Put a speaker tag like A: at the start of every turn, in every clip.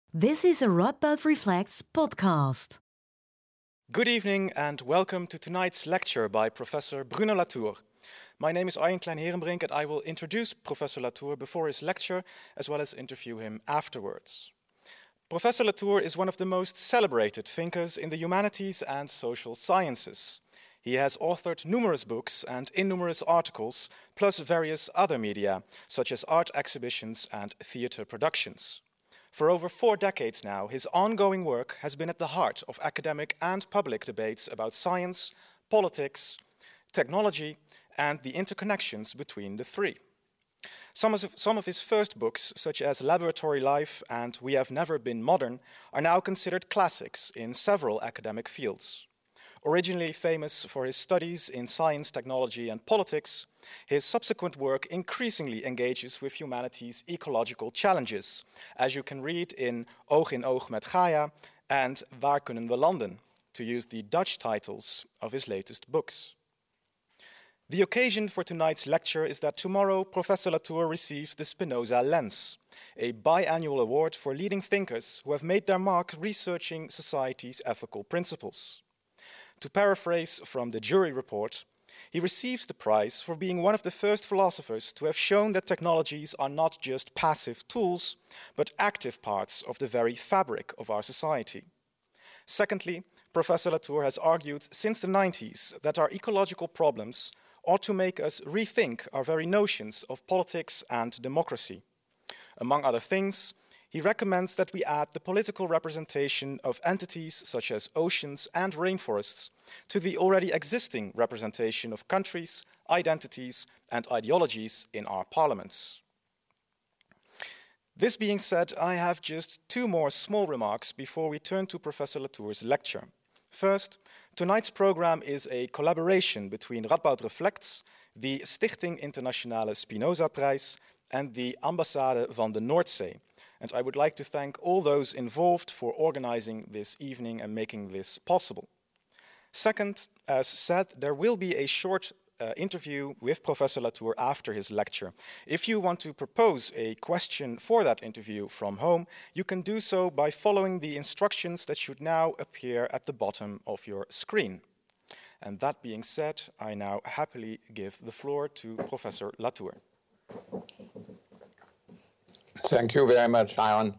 A: This is a Radboud Reflects podcast.
B: Good evening and welcome to tonight's lecture by Professor Bruno Latour. My name is Arjen Klein-Herenbrink and I will introduce Professor Latour before his lecture as well as interview him afterwards. Professor Latour is one of the most celebrated thinkers in the humanities and social sciences. He has authored numerous books and innumerous articles, plus various other media, such as art exhibitions and theatre productions. For over 4 decades now, his ongoing work has been at the heart of academic and public debates about science, politics, technology, and the interconnections between the three. Some of his first books, such as Laboratory Life and We Have Never Been Modern, are now considered classics in several academic fields. Originally famous for his studies in science, technology, and politics, his subsequent work increasingly engages with humanity's ecological challenges, as you can read in Oog in Oog met Gaia and Waar kunnen we landen, to use the Dutch titles of his latest books. The occasion for tonight's lecture is that tomorrow Professor Latour receives the Spinoza Lens, a biannual award for leading thinkers who have made their mark researching society's ethical principles. To paraphrase from the jury report, he receives the prize for being one of the first philosophers to have shown that technologies are not just passive tools, but active parts of the very fabric of our society. Secondly, Professor Latour has argued since the 90s that our ecological problems ought to make us rethink our very notions of politics and democracy. Among other things, he recommends that we add the political representation of entities such as oceans and rainforests to the already existing representation of countries, identities, and ideologies in our parliaments. This being said, I have just 2 more small remarks before we turn to Professor Latour's lecture. First, tonight's program is a collaboration between Radboud Reflects, the Stichting Internationale Spinoza-prijs, and the Ambassade van de Noordzee. And I would like to thank all those involved for organizing this evening and making this possible. Second, as said, there will be a short interview with Professor Latour after his lecture. If you want to propose a question for that interview from home, you can do so by following the instructions that should now appear at the bottom of your screen. And that being said, I now happily give the floor to Professor Latour.
C: Thank you very much, Aaron.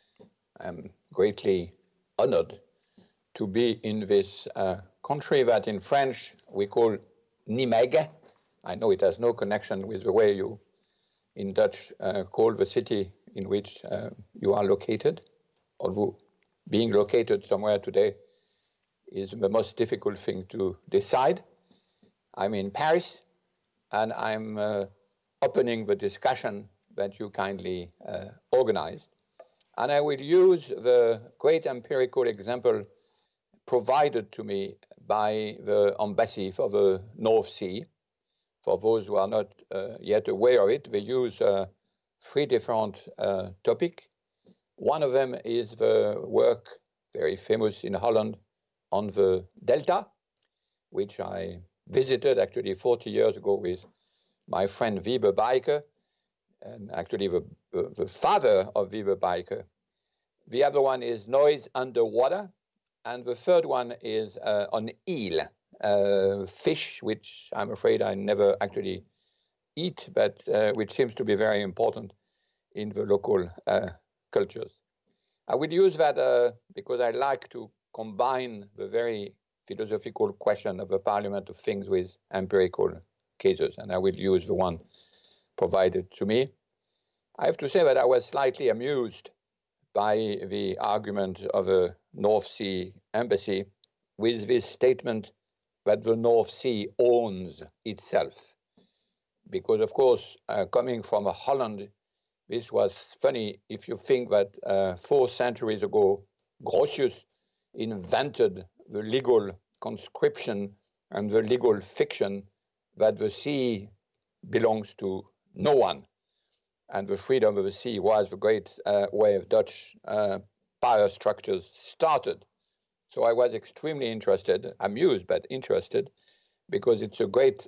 C: I'm greatly honored to be in this country that in French we call Nijmegen. I know it has no connection with the way you in Dutch call the city in which you are located, although being located somewhere today is the most difficult thing to decide. I'm in Paris and I'm opening the discussion that you kindly organized. And I will use the great empirical example provided to me by the embassy for the North Sea. For those who are not yet aware of it, they use 3 different topics. One of them is the work, very famous in Holland, on the Delta, which I visited actually 40 years ago with my friend Wiebe Buyke, and actually the father of Wiebe Buyke. The other one is noise underwater, and the third one is on eel, fish, which I'm afraid I never actually eat, but which seems to be very important in the local cultures. I will use that because I like to combine the very philosophical question of the Parliament of Things with empirical cases, and I will use the one provided to me. I have to say that I was slightly amused by the argument of the North Sea embassy with this statement that the North Sea owns itself. Because, of course, coming from Holland, this was funny if you think that 4 centuries ago, Grotius invented the legal conscription and the legal fiction that the sea belongs to no one. And the freedom of the sea was the great way of Dutch power structures started. So I was extremely interested, amused, but interested, because it's a great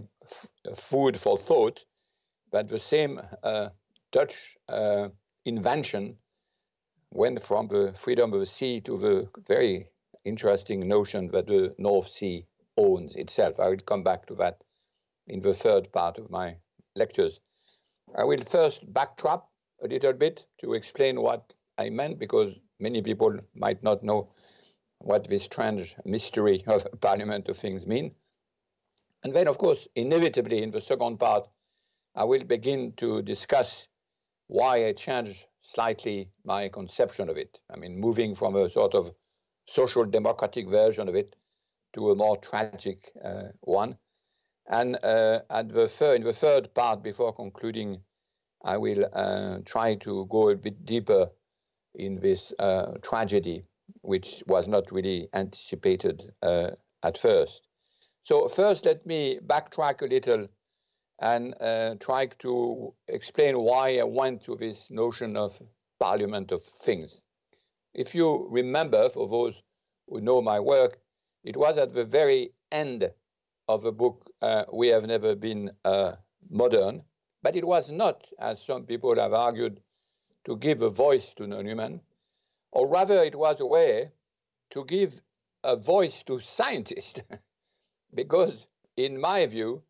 C: food for thought that the same Dutch invention went from the freedom of the sea to the very interesting notion that the North Sea owns itself. I will come back to that in the third part of my lectures. I will first backtrack a little bit to explain what I meant, because many people might not know what this strange mystery of Parliament of Things mean. And then, of course, inevitably in the second part, I will begin to discuss why I changed slightly my conception of it. I mean, moving from a sort of social democratic version of it to a more tragic one. And in the third part, before concluding, I will try to go a bit deeper in this tragedy, which was not really anticipated at first. So first, let me backtrack a little and try to explain why I went to this notion of Parliament of Things. If you remember, for those who know my work, it was at the very end of the book, We Have Never Been Modern, but it was not, as some people have argued, to give a voice to non-human, or rather it was a way to give a voice to scientists, because in my view,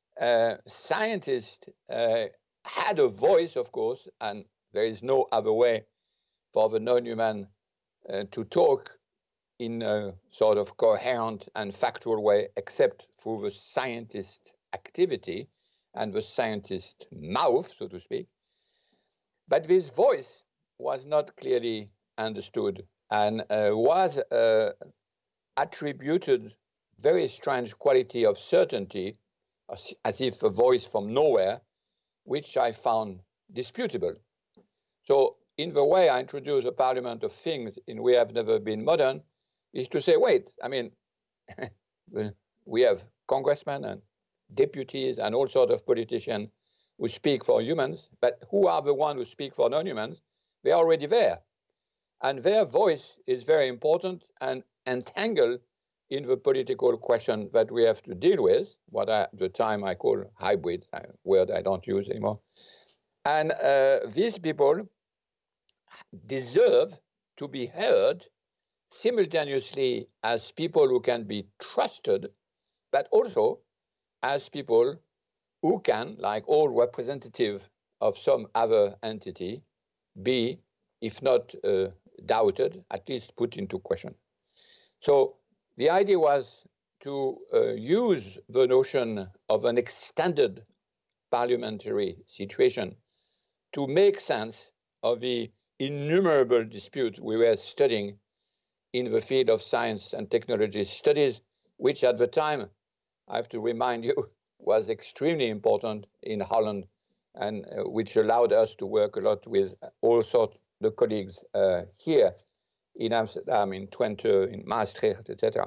C: scientists had a voice, of course, and there is no other way for the non-human to talk in a sort of coherent and factual way, except through the scientist activity and the scientist mouth, so to speak. But this voice was not clearly understood and was attributed very strange quality of certainty, as if a voice from nowhere, which I found disputable. So in the way I introduce a Parliament of Things in We Have Never Been Modern, is to say, wait, I mean, we have congressmen and deputies and all sorts of politicians who speak for humans, but who are the ones who speak for non-humans? They are already there. And their voice is very important and entangled in the political question that we have to deal with, what at the time I call hybrid, a word I don't use anymore. And these people deserve to be heard simultaneously as people who can be trusted, but also as people who can, like all representative of some other entity, be, if not doubted, at least put into question. So the idea was to use the notion of an extended parliamentary situation to make sense of the innumerable disputes we were studying in the field of science and technology studies, which at the time, I have to remind you, was extremely important in Holland, and which allowed us to work a lot with all sorts of colleagues here in Amsterdam, in Twente, in Maastricht, etc.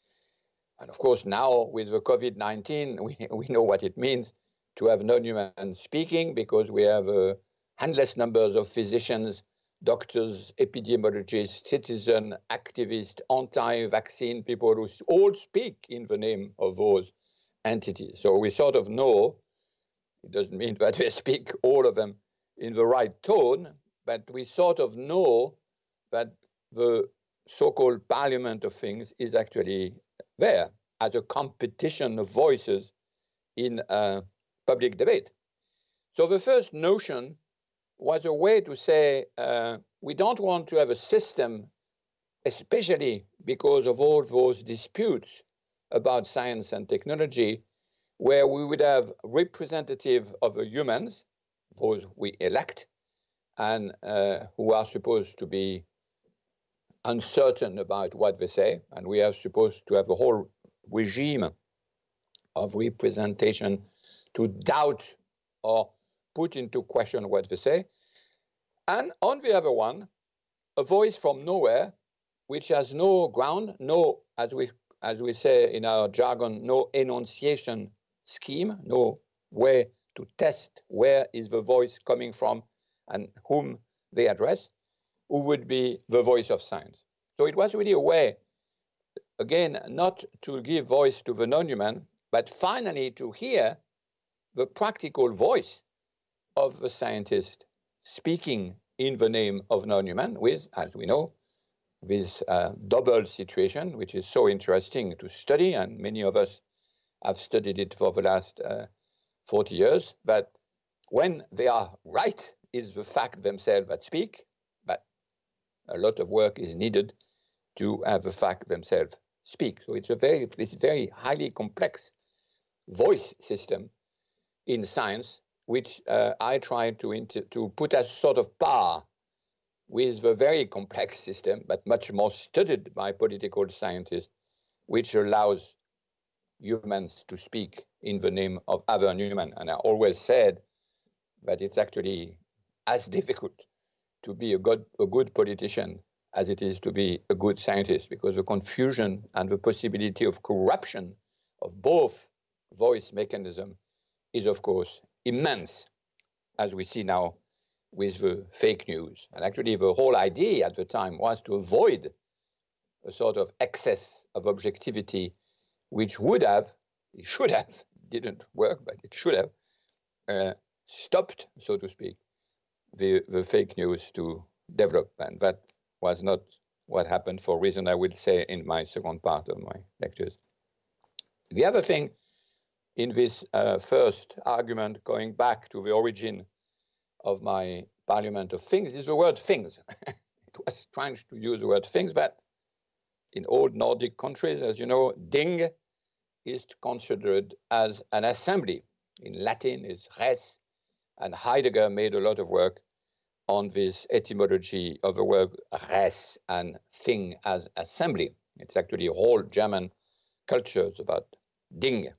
C: And of course, now with the COVID-19, we know what it means to have non-human speaking, because we have endless numbers of physicians, doctors, epidemiologists, citizen activists, anti-vaccine people who all speak in the name of those entities. So we sort of know, it doesn't mean that they speak all of them in the right tone, but we sort of know that the so-called Parliament of Things is actually there as a competition of voices in public debate. So the first notion was a way to say we don't want to have a system, especially because of all those disputes about science and technology, where we would have representative of the humans, those we elect, and who are supposed to be uncertain about what they say, and we are supposed to have a whole regime of representation to doubt or put into question what they say. And on the other one, a voice from nowhere, which has no ground, no, as we say in our jargon, no enunciation scheme, no way to test where is the voice coming from and whom they address, who would be the voice of science. So it was really a way, again, not to give voice to the non-human, but finally to hear the practical voice of the scientist speaking in the name of non-human with, as we know, this double situation, which is so interesting to study, and many of us have studied it for the last 40 years, that when they are right, is the fact themselves that speak, but a lot of work is needed to have the fact themselves speak. So it's this very highly complex voice system in science, which I try to put as sort of par with the very complex system, but much more studied by political scientists, which allows humans to speak in the name of other human. And I always said that it's actually as difficult to be a good politician as it is to be a good scientist, because the confusion and the possibility of corruption of both voice mechanism is, of course, immense, as we see now with the fake news. And actually, the whole idea at the time was to avoid a sort of excess of objectivity, which should have, didn't work, but it should have stopped, so to speak, the fake news to develop. And that was not what happened, for reason I will say in my second part of my lectures. The other thing in this first argument, going back to the origin of my Parliament of Things, is the word things. It was strange to use the word things, but in old Nordic countries, as you know, ding is considered as an assembly. In Latin, it's res, and Heidegger made a lot of work on this etymology of the word res and thing as assembly. It's actually a whole German culture about ding,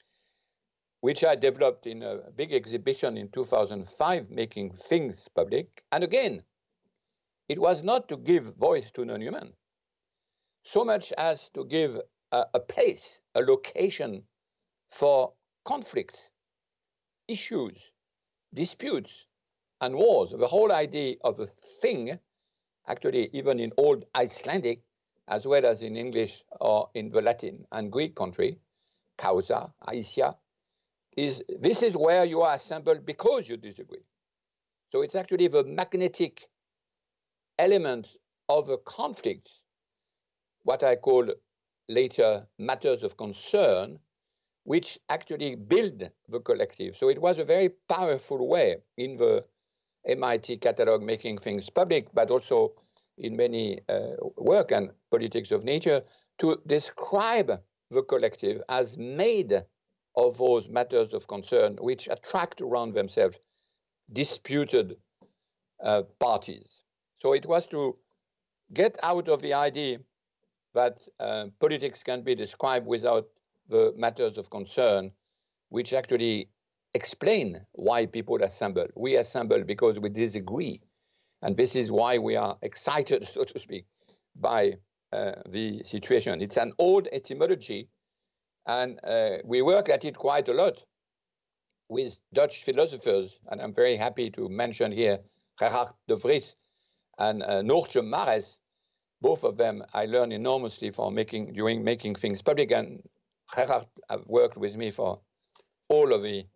C: which I developed in a big exhibition in 2005, making things public. And again, it was not to give voice to non-human, so much as to give a place, a location for conflicts, issues, disputes, and wars. The whole idea of a thing, actually even in old Icelandic, as well as in English or in the Latin and Greek country, causa, aisia, this is where you are assembled because you disagree. So it's actually the magnetic element of a conflict, what I call later matters of concern, which actually build the collective. So it was a very powerful way in the MIT catalog making things public, but also in many work and politics of nature, to describe the collective as made of those matters of concern which attract around themselves disputed parties. So it was to get out of the idea that politics can be described without the matters of concern, which actually explain why people assemble. We assemble because we disagree. And this is why we are excited, so to speak, by the situation. It's an old etymology, and we work at it quite a lot with Dutch philosophers. And I'm very happy to mention here Gerhard de Vries and Noortje Mares. Both of them I learned enormously during making things public, and Gerhard have worked with me for all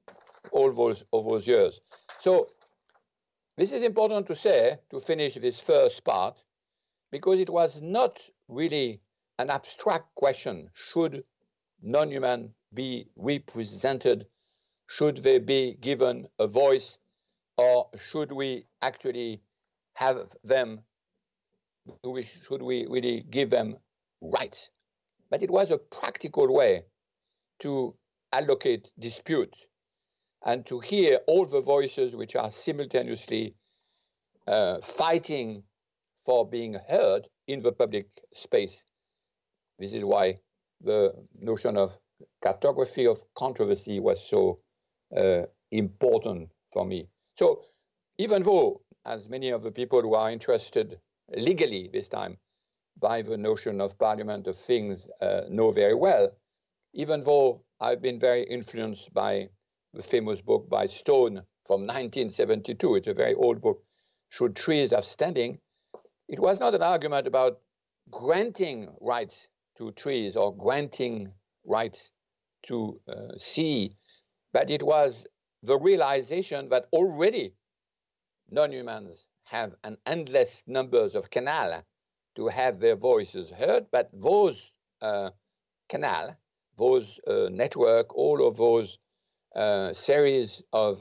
C: those years. So this is important to say, to finish this first part, because it was not really an abstract question. Should non-human be represented? Should they be given a voice? Or should we actually have them, should we really give them rights? But it was a practical way to allocate dispute and to hear all the voices which are simultaneously fighting for being heard in the public space. This is why the notion of cartography of controversy was so important for me. So even though, as many of the people who are interested legally this time by the notion of Parliament of Things know very well, even though I've been very influenced by the famous book by Stone from 1972, it's a very old book, Should Trees Have Standing? It was not an argument about granting rights to trees or granting rights to sea, but it was the realization that already non-humans have an endless numbers of canals to have their voices heard, but those canals, those network, all of those series of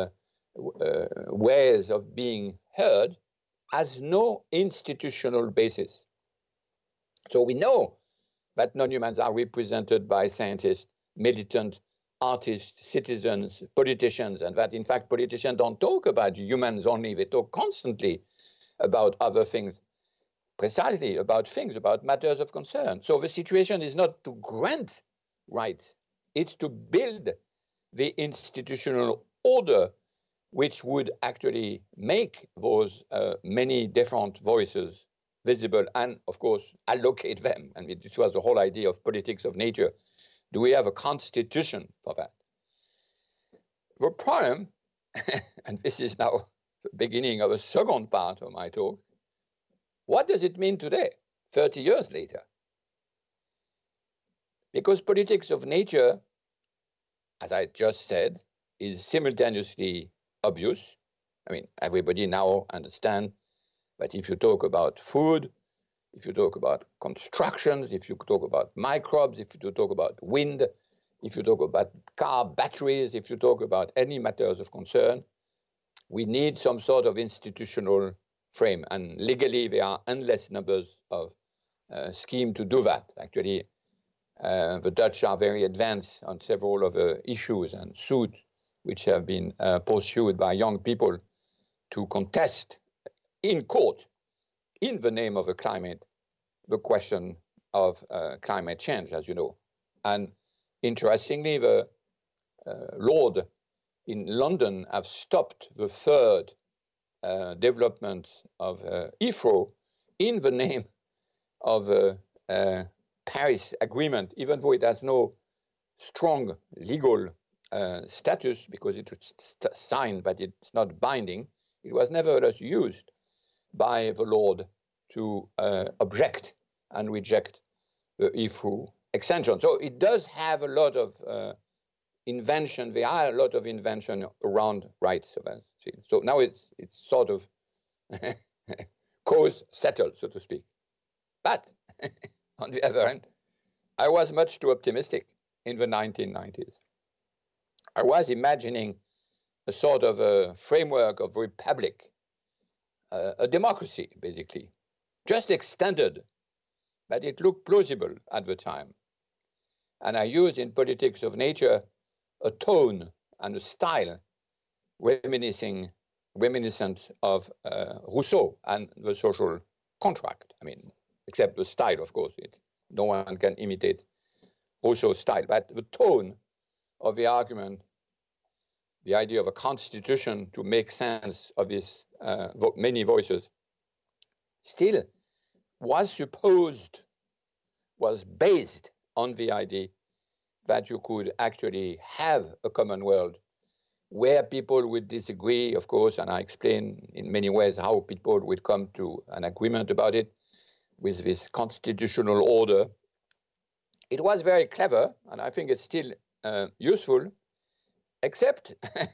C: ways of being heard has no institutional basis. So we know that non-humans are represented by scientists, militants, artists, citizens, politicians, and that in fact politicians don't talk about humans only, they talk constantly about other things, precisely about things, about matters of concern. So the situation is not to grant rights, it's to build the institutional order which would actually make those many different voices visible and, of course, allocate them. I mean, this was the whole idea of politics of nature. Do we have a constitution for that? The problem, and this is now the beginning of a second part of my talk, what does it mean today, 30 years later? Because politics of nature, as I just said, is simultaneously obvious. I mean, everybody now understands that if you talk about food, if you talk about constructions, if you talk about microbes, if you talk about wind, if you talk about car batteries, if you talk about any matters of concern, we need some sort of institutional frame. And legally, there are endless numbers of schemes to do that. Actually, the Dutch are very advanced on several of the issues and suits which have been pursued by young people to contest in court, in the name of the climate, the question of climate change, as you know. And interestingly, the Lord in London have stopped the third development of Heathrow in the name of the Paris Agreement, even though it has no strong legal status because it was signed, but it's not binding. It was nevertheless used by the Lord to object and reject the Heathrow extension. So it does have a lot of invention. There are a lot of invention around rights. So now it's sort of cause settled, so to speak. But on the other hand, I was much too optimistic in the 1990s. I was imagining a sort of a framework of republic, a democracy, basically, just extended, but it looked plausible at the time. And I used in politics of nature a tone and a style reminiscent of Rousseau and the social contract. I mean, except the style, of course. No one can imitate Rousseau's style, but the tone of the argument, the idea of a constitution to make sense of these many voices, still was based on the idea that you could actually have a common world where people would disagree, of course, and I explain in many ways how people would come to an agreement about it with this constitutional order. It was very clever, and I think it's still useful, except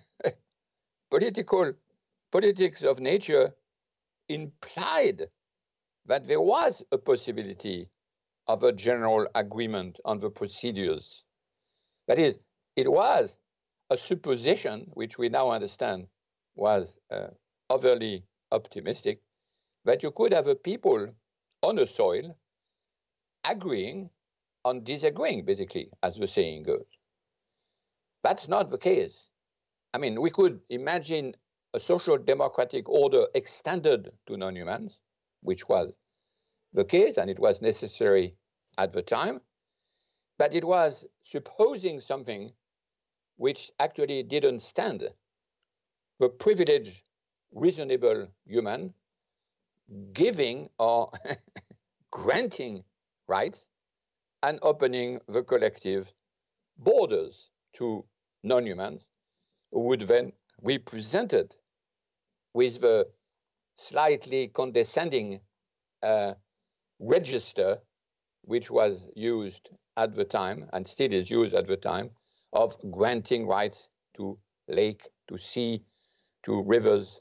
C: politics of nature implied that there was a possibility of a general agreement on the procedures. That is, it was a supposition, which we now understand was overly optimistic, that you could have a people on a soil agreeing on disagreeing, basically, as the saying goes. That's not the case. I mean, we could imagine a social democratic order extended to non-humans, which was the case, and it was necessary at the time, but it was supposing something which actually didn't stand. The privileged, reasonable human giving or granting rights and opening the collective borders to non-humans who would then be presented with the slightly condescending register which was used at the time and still is used at the time of granting rights to lake, to sea, to rivers,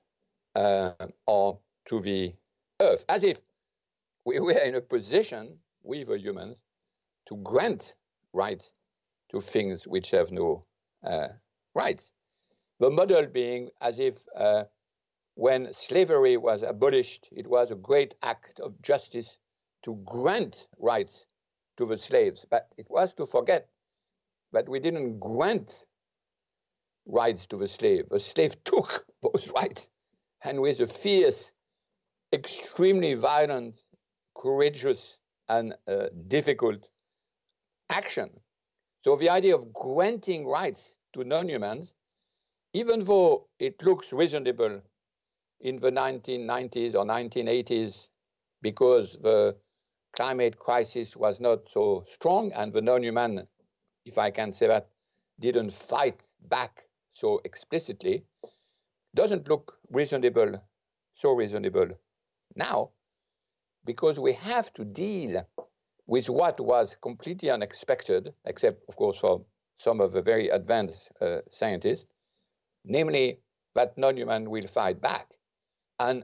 C: or to the earth, as if we were in a position, we the humans, to grant rights to things which have no rights. The model being as if when slavery was abolished, it was a great act of justice to grant rights to the slaves. But it was to forget that we didn't grant rights to the slave. The slave took those rights, and with a fierce, extremely violent, courageous, and difficult action. So the idea of granting rights to non-humans, even though it looks reasonable in the 1990s or 1980s, because the climate crisis was not so strong and the non-human, if I can say that, didn't fight back so explicitly, doesn't look reasonable, so reasonable now, because we have to deal with what was completely unexpected, except, of course, for some of the very advanced scientists, namely that non-human will fight back and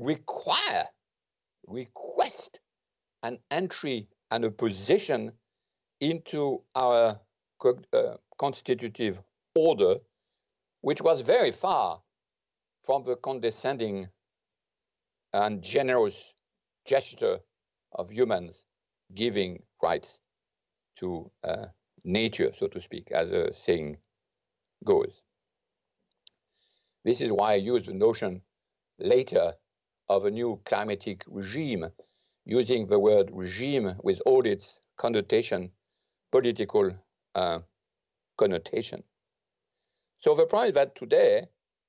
C: request an entry and a position into our constitutive order, which was very far from the condescending and generous gesture of humans giving rights to nature, so to speak, as a saying goes. This is why I use the notion later of a new climatic regime, using the word regime with all its connotation, political connotation. So the point is that today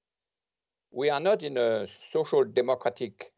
C: we are not in a social democratic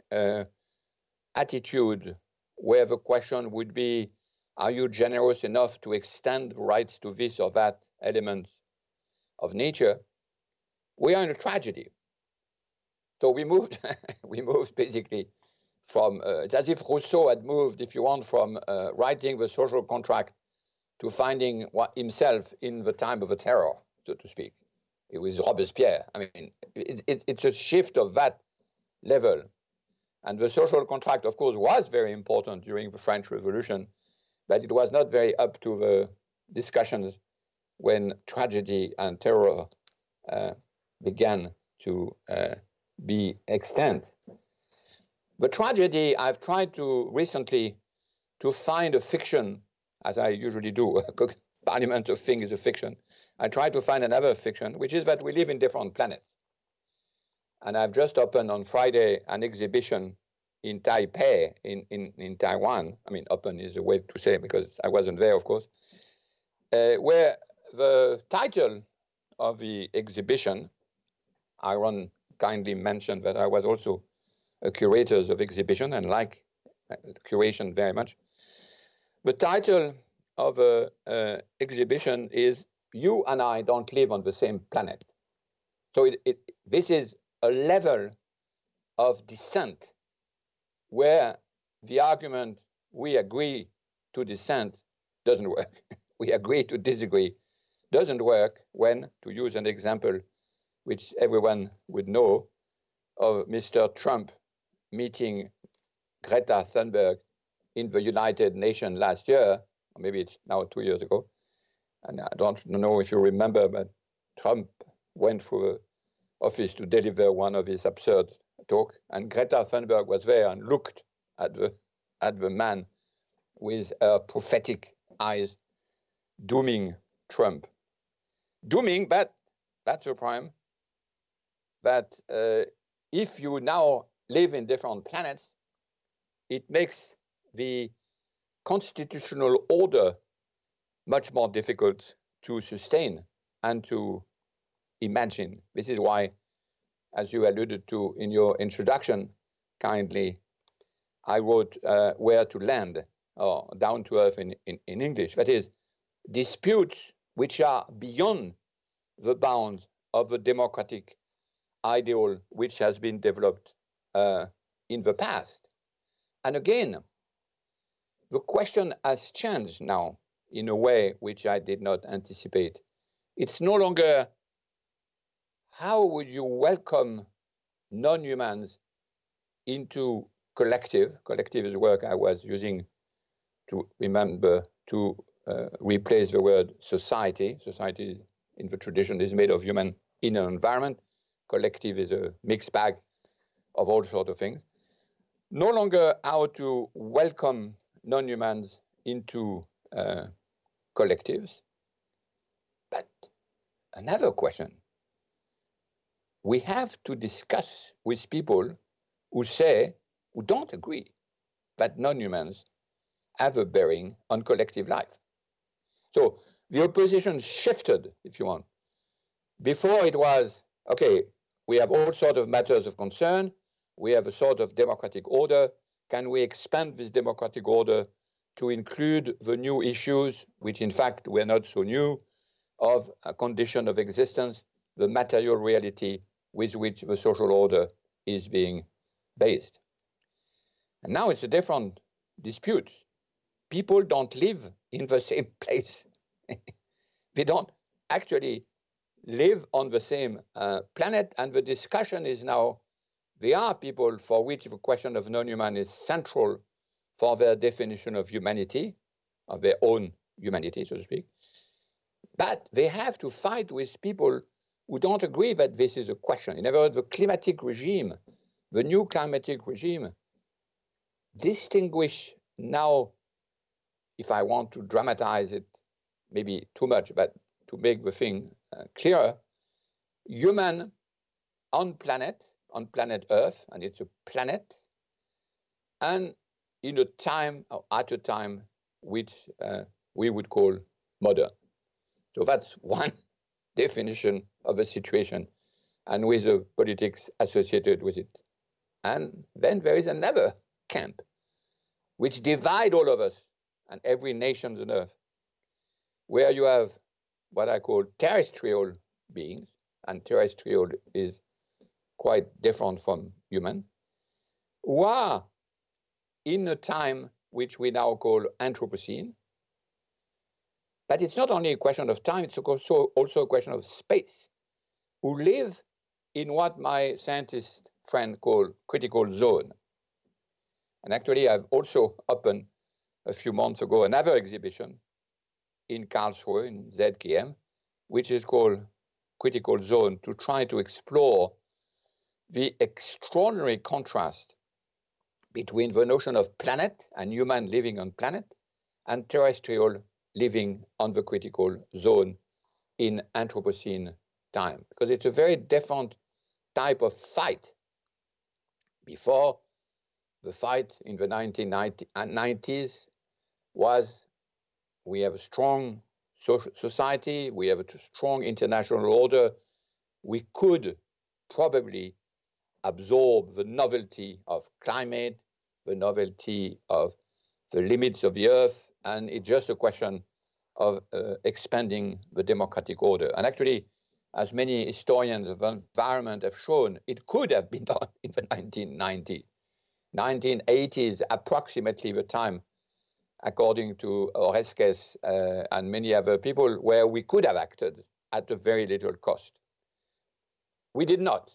C: attitude where the question would be, are you generous enough to extend rights to this or that element of nature? We are in a tragedy. So we moved basically from, it's as if Rousseau had moved, if you want, from writing the social contract to finding himself in the time of the terror, so to speak. It was Robespierre. I mean, it's a shift of that level. And the social contract, of course, was very important during the French Revolution, but it was not very up to the discussions when tragedy and terror began to be extant. The tragedy, I've tried to recently to find a fiction, as I usually do. Parliament of Things is a fiction. I tried to find another fiction, which is that we live in different planets. And I've just opened on Friday an exhibition in Taipei, in Taiwan. I mean, open is a way to say, because I wasn't there, of course, where the title of the exhibition, Aaron kindly mentioned that I was also a curator of exhibition and like curation very much. The title of the exhibition is You and I Don't Live on the Same Planet. So this is a level of dissent where the argument we agree to dissent doesn't work. We agree to disagree doesn't work when, to use an example which everyone would know, of Mr. Trump meeting Greta Thunberg in the United Nations last year, or maybe it's now 2 years ago. And I don't know if you remember, but Trump went through the office to deliver one of his absurd talk, and Greta Thunberg was there and looked at the man with her prophetic eyes, dooming Trump. Dooming, but that's the problem, that if you now live in different planets, it makes the constitutional order much more difficult to sustain and to imagine. This is why, as you alluded to in your introduction, kindly, I wrote Where to Land, or Down to Earth in English. That is, disputes which are beyond the bounds of the democratic ideal which has been developed in the past. And again, the question has changed now in a way which I did not anticipate. It's no longer how would you welcome non-humans into collective. Collective is the word I was using to remember to replace the word society. Society in the tradition is made of human in an environment. Collective is a mixed bag of all sorts of things. No longer how to welcome non-humans into collectives, but another question. We have to discuss with people who don't agree that non-humans have a bearing on collective life. So the opposition shifted, if you want. Before it was, okay, we have all sorts of matters of concern. We have a sort of democratic order. Can we expand this democratic order to include the new issues, which in fact were not so new, of a condition of existence, the material reality with which the social order is being based. And now it's a different dispute. People don't live in the same place. They don't actually live on the same planet, and the discussion is now, there are people for which the question of non-human is central for their definition of humanity, of their own humanity, so to speak. But they have to fight with people who don't agree that this is a question. In other words, the climatic regime, the new climatic regime, distinguish now, if I want to dramatize it, maybe too much, but to make the thing clearer, human on planet Earth, and it's a planet, and in a time, or at a time, which we would call modern. So that's one definition of a situation, and with the politics associated with it. And then there is another camp, which divide all of us and every nation on Earth, where you have what I call terrestrial beings, and terrestrial is quite different from human, who are in a time which we now call Anthropocene. But it's not only a question of time, it's also a question of space, who live in what my scientist friend call critical zone. And actually, I've also opened a few months ago another exhibition in Karlsruhe, in ZKM, which is called Critical Zone, to try to explore the extraordinary contrast between the notion of planet and human living on planet and terrestrial living on the critical zone in Anthropocene time, because it's a very different type of fight. Before, the fight in the 1990s was, we have a strong society, we have a strong international order, we could probably absorb the novelty of climate, the novelty of the limits of the earth, and it's just a question of expanding the democratic order. And actually, as many historians of environment have shown, it could have been done in the 1990s. 1980s, approximately the time, according to Oreskes and many other people, where we could have acted at a very little cost. We did not.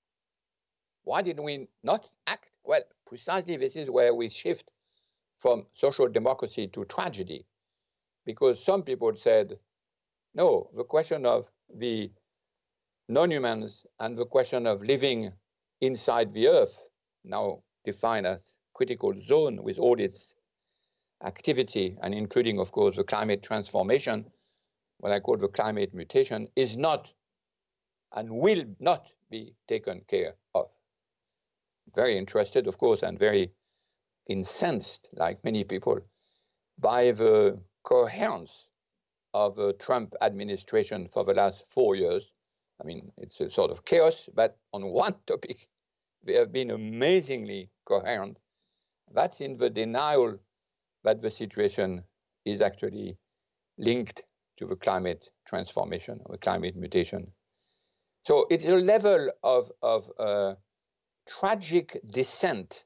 C: Why did we not act? Well, precisely this is where we shift from social democracy to tragedy, because some people said, no, the question of the non-humans and the question of living inside the earth, now defined as critical zone with all its activity, and including, of course, the climate transformation, what I call the climate mutation, is not and will not be taken care of. Very interested, of course, and very incensed, like many people, by the coherence of the Trump administration for the last 4 years. I mean, it's a sort of chaos, but on one topic, they have been amazingly coherent. That's in the denial that the situation is actually linked to the climate transformation or climate mutation. So it's a level of tragic descent,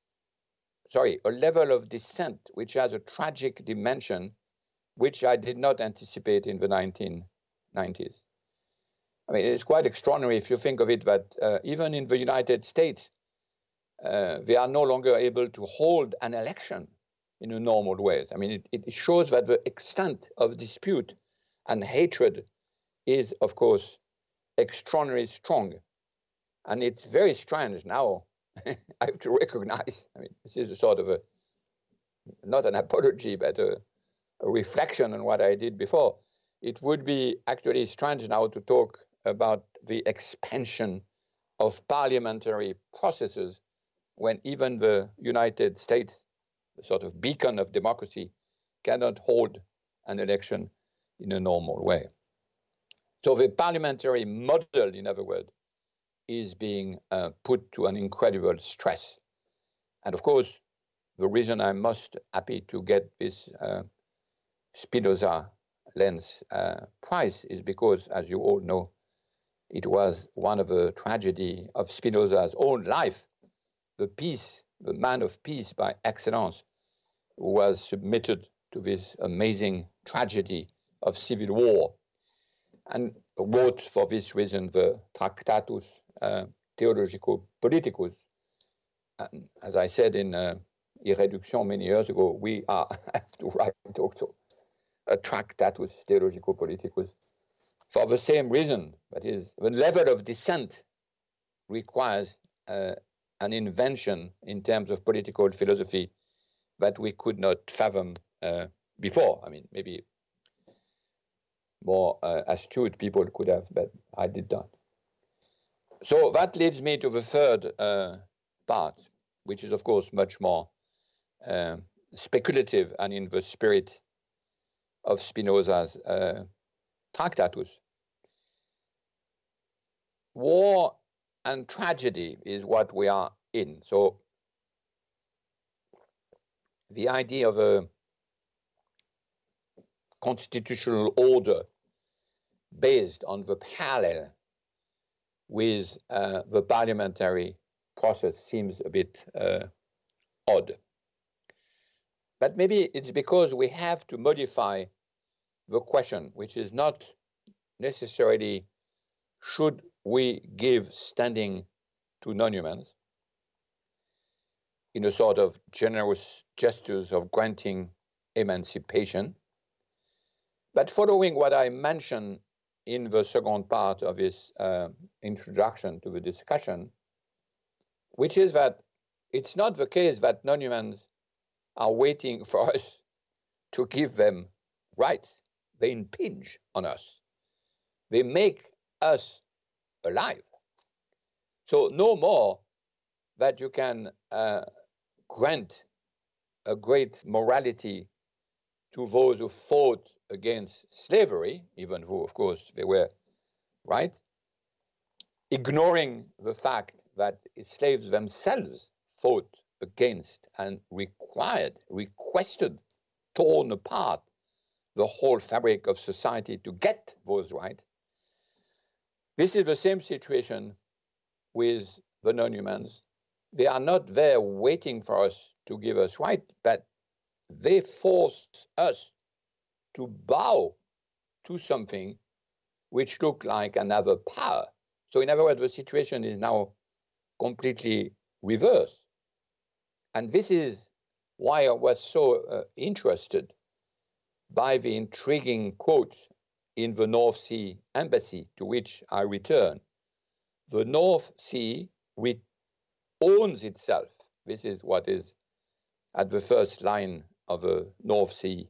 C: a level of descent which has a tragic dimension, which I did not anticipate in the 1990s. I mean, it's quite extraordinary if you think of it that even in the United States, they are no longer able to hold an election in a normal way. I mean, it shows that the extent of dispute and hatred is, of course, extraordinarily strong. And it's very strange now. I have to recognize, I mean, this is a sort of not an apology, but a reflection on what I did before. It would be actually strange now to talk about the expansion of parliamentary processes when even the United States, the sort of beacon of democracy, cannot hold an election in a normal way. So the parliamentary model, in other words, is being put to an incredible stress. And of course, the reason I'm most happy to get this Spinoza Lenz prize is because, as you all know, it was one of the tragedy of Spinoza's own life, the man of peace by excellence, who was submitted to this amazing tragedy of civil war, and wrote for this reason the Tractatus Theologico-Politicus. And as I said in Irreduction many years ago, we have to write also a Tractatus Theologico-Politicus for the same reason. That is, the level of dissent requires an invention in terms of political philosophy that we could not fathom before. I mean, maybe more astute people could have, but I did not. So that leads me to the third part, which is, of course, much more speculative and in the spirit of Spinoza's Tractatus. War and tragedy is what we are in. So the idea of a constitutional order based on the parallel with the parliamentary process seems a bit odd. But maybe it's because we have to modify the question, which is not necessarily should we give standing to non-humans in a sort of generous gestures of granting emancipation, but following what I mentioned in the second part of this introduction to the discussion, which is that it's not the case that non-humans are waiting for us to give them rights. They impinge on us. They make us alive. So no more that you can grant a great morality to those who fought against slavery, even though, of course, they were right, ignoring the fact that slaves themselves fought against and requested, torn apart the whole fabric of society to get those rights. This is the same situation with the non-humans. They are not there waiting for us to give us right, but they force us to bow to something which look like another power. So in other words, the situation is now completely reversed. And this is why I was so interested by the intriguing quote in the North Sea Embassy, to which I return. The North Sea owns itself. This is what is at the first line of a North Sea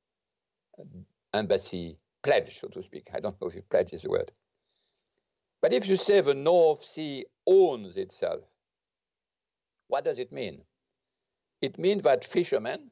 C: Embassy pledge, so to speak. I don't know if pledge is the word. But if you say the North Sea owns itself, what does it mean? It means that fishermen,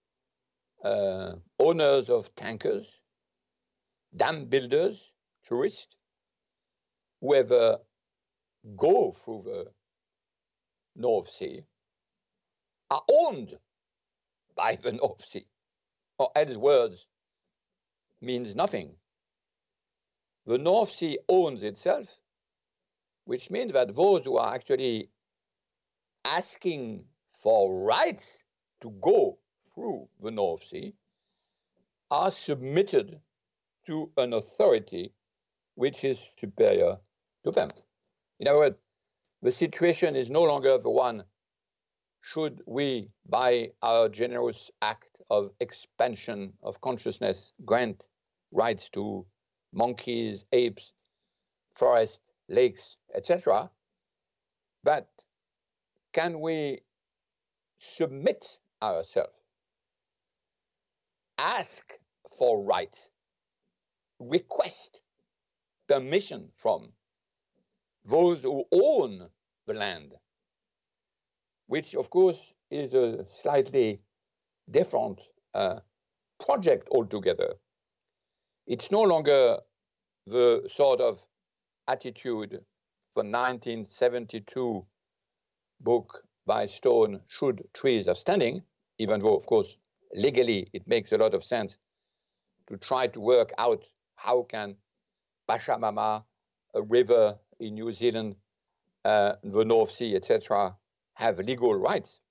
C: owners of tankers, dam builders, tourists, whoever go through the North Sea are owned by the North Sea, or else words means nothing. The North Sea owns itself, which means that those who are actually asking for rights to go through the North Sea are submitted to an authority which is superior to them. In other words, the situation is no longer the one, should we, by our generous act of expansion of consciousness, grant rights to monkeys, apes, forests, lakes, etc., but can we submit ourselves, ask for rights, request permission from those who own the land, which of course is a slightly different project altogether. It's no longer the sort of attitude for 1972 book by Stone, Should Trees Are Standing, even though, of course, legally it makes a lot of sense to try to work out how can Pachamama, a river in New Zealand, the North Sea, etc., have legal rights,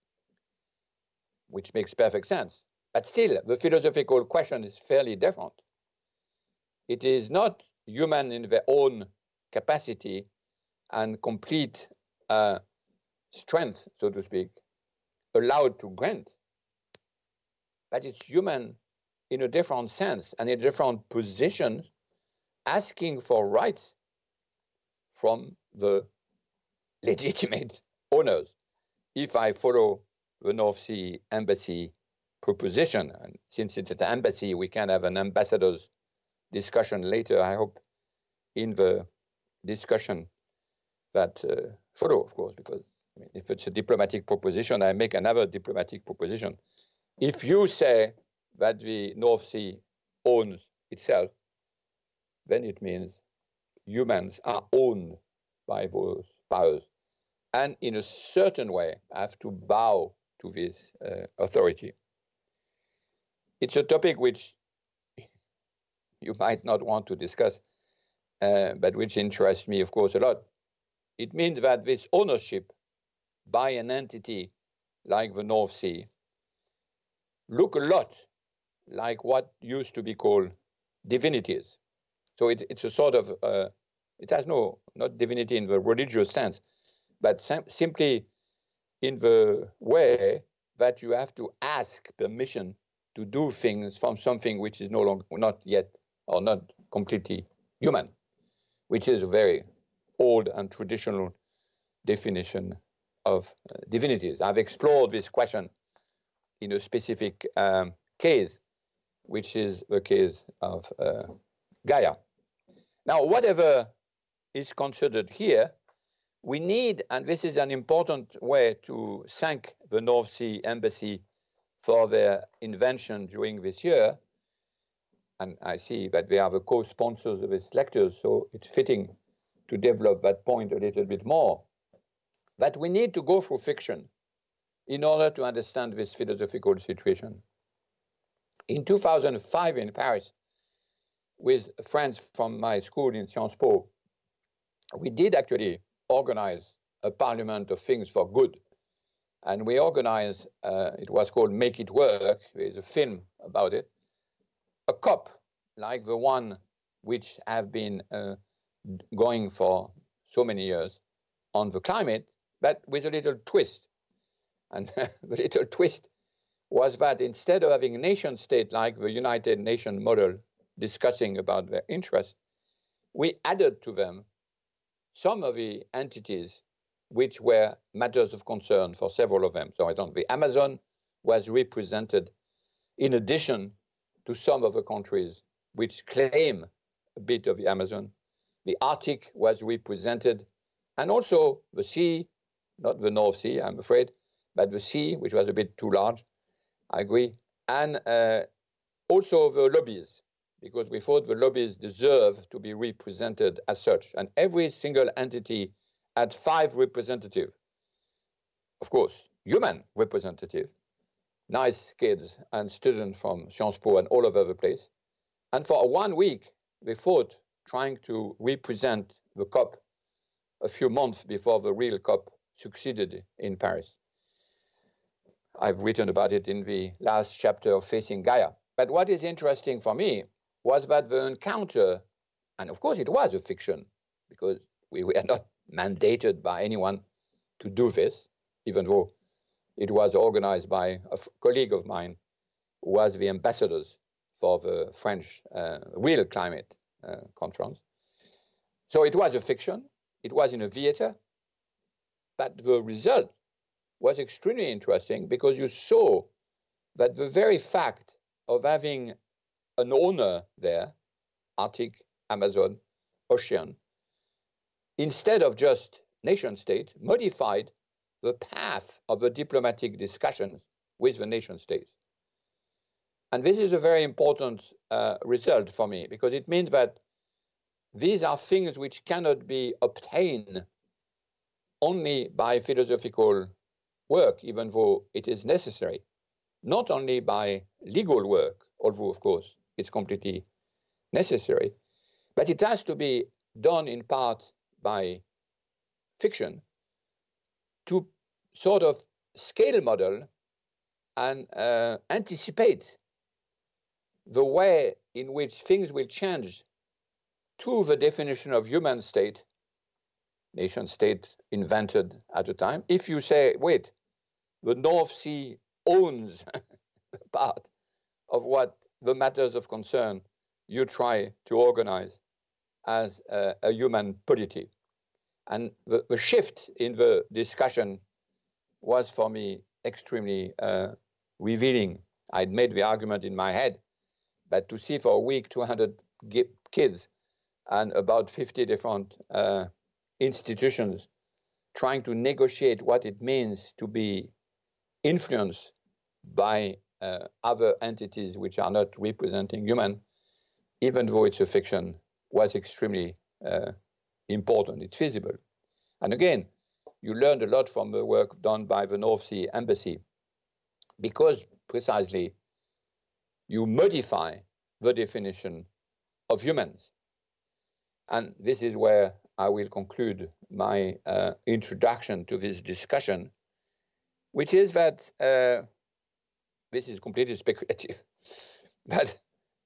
C: which makes perfect sense. But still, the philosophical question is fairly different. It is not human in their own capacity and complete strength, so to speak, allowed to grant, but it's human in a different sense and in a different position, asking for rights from the legitimate owners. If I follow the North Sea Embassy proposition, and since it's an embassy, we can have an ambassador's discussion later, I hope, in the discussion that follow, of course, because if it's a diplomatic proposition, I make another diplomatic proposition. If you say that the North Sea owns itself, then it means humans are owned by those powers, and in a certain way have to bow to this authority. It's a topic which you might not want to discuss, but which interests me, of course, a lot. It means that this ownership by an entity like the North Sea look a lot like what used to be called divinities. So it's a sort of, it has not divinity in the religious sense, but simply in the way that you have to ask permission to do things from something which is no longer, not yet, or not completely human, which is a very old and traditional definition of divinities. I've explored this question in a specific case, which is the case of Gaia. Now, whatever is considered here, we need, and this is an important way to thank the North Sea Embassy for their invention during this year, and I see that they are the co-sponsors of this lecture, so it's fitting to develop that point a little bit more, that we need to go through fiction in order to understand this philosophical situation. In 2005 in Paris, with friends from my school in Sciences Po, we did actually organize a parliament of things for good. And we organized, it was called Make It Work, there's a film about it, a COP like the one which have been going for so many years on the climate, but with a little twist. And the little twist was that instead of having a nation state like the United Nations model discussing about their interests, we added to them some of the entities which were matters of concern for several of them. So the Amazon was represented in addition to some of the countries which claim a bit of the Amazon. The Arctic was represented, and also the sea, not the North Sea, I'm afraid, but the sea, which was a bit too large, I agree, and also the lobbies, because we thought the lobbies deserve to be represented as such. And every single entity had 5 representatives. Of course, human representative, nice kids and students from Sciences Po and all over the place. And for 1 week, we fought trying to represent the COP a few months before the real COP succeeded in Paris. I've written about it in the last chapter of Facing Gaia. But what is interesting for me was that the encounter And of course, it was a fiction because we were not mandated by anyone to do this, even though it was organized by a colleague of mine who was the ambassadors for the French real climate conference. So it was a fiction. It was in a theater. But the result was extremely interesting because you saw that the very fact of having an owner there, Arctic, Amazon, ocean, instead of just nation state, modified the path of the diplomatic discussions with the nation states. And this is a very important result for me because it means that these are things which cannot be obtained only by philosophical work, even though it is necessary, not only by legal work, although of course it's completely necessary, but it has to be done in part by fiction to sort of scale model and anticipate the way in which things will change to the definition of human state, nation state invented at the time. If you say, wait, the North Sea owns part of what the matters of concern you try to organize as a human polity. And the shift in the discussion was for me extremely revealing. I'd made the argument in my head, but to see for a week 200 kids and about 50 different institutions trying to negotiate what it means to be influenced by other entities which are not representing human, even though it's a fiction, was extremely important. It's feasible. And again, you learned a lot from the work done by the North Sea Embassy because precisely you modify the definition of humans. And this is where I will conclude my introduction to this discussion, which is that this is completely speculative, but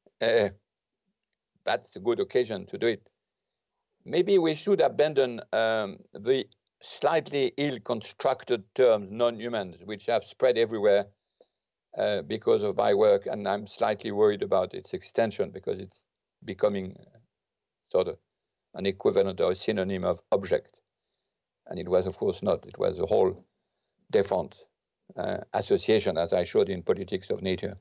C: that's a good occasion to do it. Maybe we should abandon the slightly ill-constructed term non-humans, which have spread everywhere because of my work, and I'm slightly worried about its extension because it's becoming sort of an equivalent or a synonym of object. And it was, of course, not. It was a whole different association, as I showed in Politics of Nature.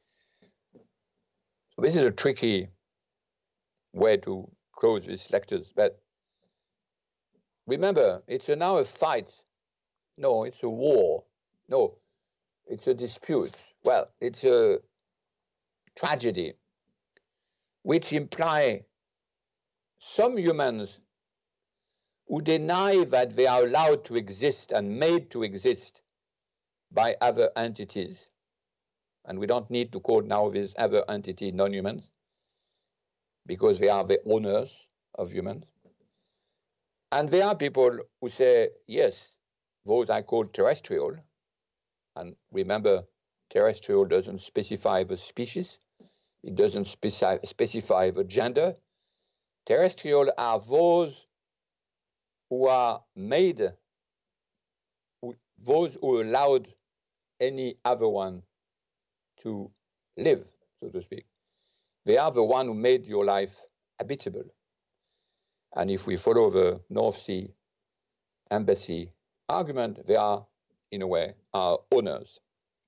C: So this is a tricky way to close these lectures, but remember, it's now a fight. No, it's a war. No, it's a dispute. Well, it's a tragedy, which imply some humans who deny that they are allowed to exist and made to exist by other entities. And we don't need to call now this other entity non-humans because they are the owners of humans. And there are people who say, yes, those I call terrestrial. And remember, terrestrial doesn't specify the species. It doesn't specify the gender. Terrestrial are those who are made, those who allowed any other one to live, so to speak. They are the one who made your life habitable. And if we follow the North Sea Embassy argument, they are, in a way, our owners.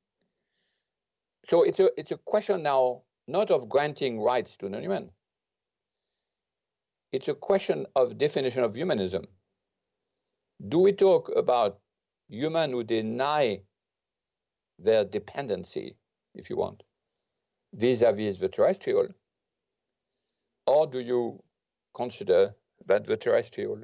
C: So it's a question now not of granting rights to non-human. It's a question of definition of humanism. Do we talk about humans who deny their dependency, if you want, vis-a-vis the terrestrial? Or do you consider that the terrestrial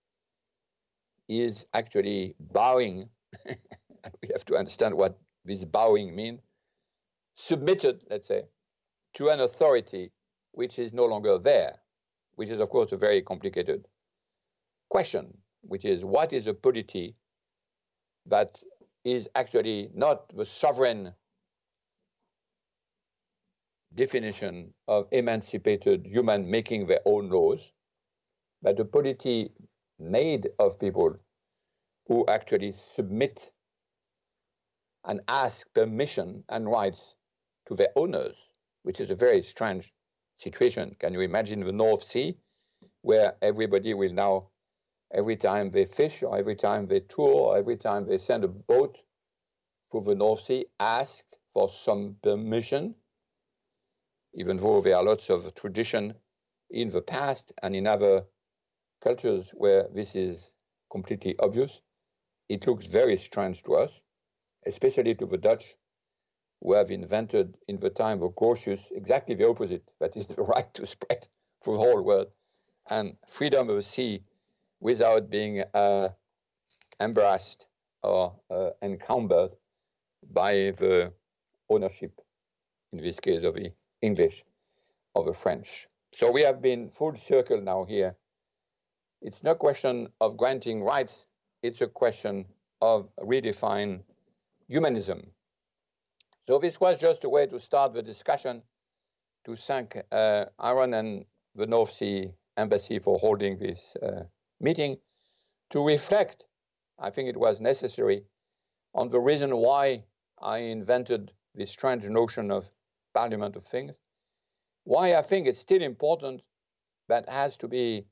C: is actually bowing, we have to understand what this bowing means, submitted, let's say, to an authority which is no longer there, which is, of course, a very complicated question, which is what is a polity that is actually not the sovereign definition of emancipated human making their own laws, but a polity made of people who actually submit and ask permission and rights to their owners, which is a very strange situation. Can you imagine the North Sea, where everybody will now, every time they fish or every time they tour or every time they send a boat through the North Sea, ask for some permission, even though there are lots of tradition in the past and in other cultures where this is completely obvious. It looks very strange to us, especially to the Dutch, who have invented in the time of Grotius exactly the opposite, that is the right to spread through the whole world, and freedom of the sea without being embarrassed or encumbered by the ownership, in this case of the English or the French. So we have been full circle now here. It's no question of granting rights, it's a question of redefining humanism. So this was just a way to start the discussion, to thank Aaron and the North Sea Embassy for holding this meeting, to reflect, I think it was necessary, on the reason why I invented this strange notion of Parliament of Things, why I think it's still important, but has to be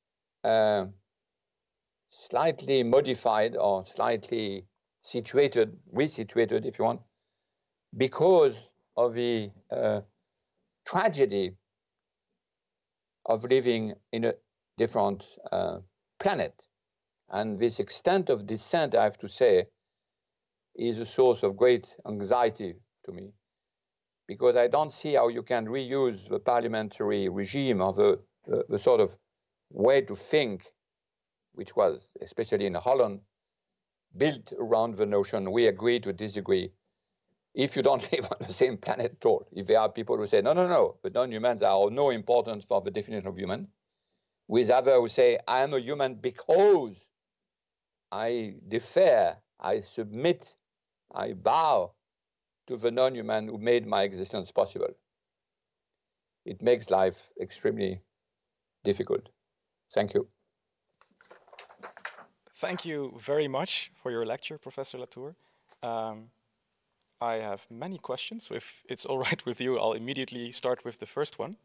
C: slightly modified or slightly resituated, if you want, because of the tragedy of living in a different planet. And this extent of dissent, I have to say, is a source of great anxiety to me, because I don't see how you can reuse the parliamentary regime or the sort of way to think, which was, especially in Holland, built around the notion we agree to disagree, if you don't live on the same planet at all. If there are people who say, no, the non-humans are of no importance for the definition of human, with others who say, I am a human because I defer, I submit, I bow to the non-human who made my existence possible. It makes life extremely difficult. Thank you.
B: Thank you very much for your lecture, Professor Latour. I have many questions, so if it's all right with you, I'll immediately start with the first one.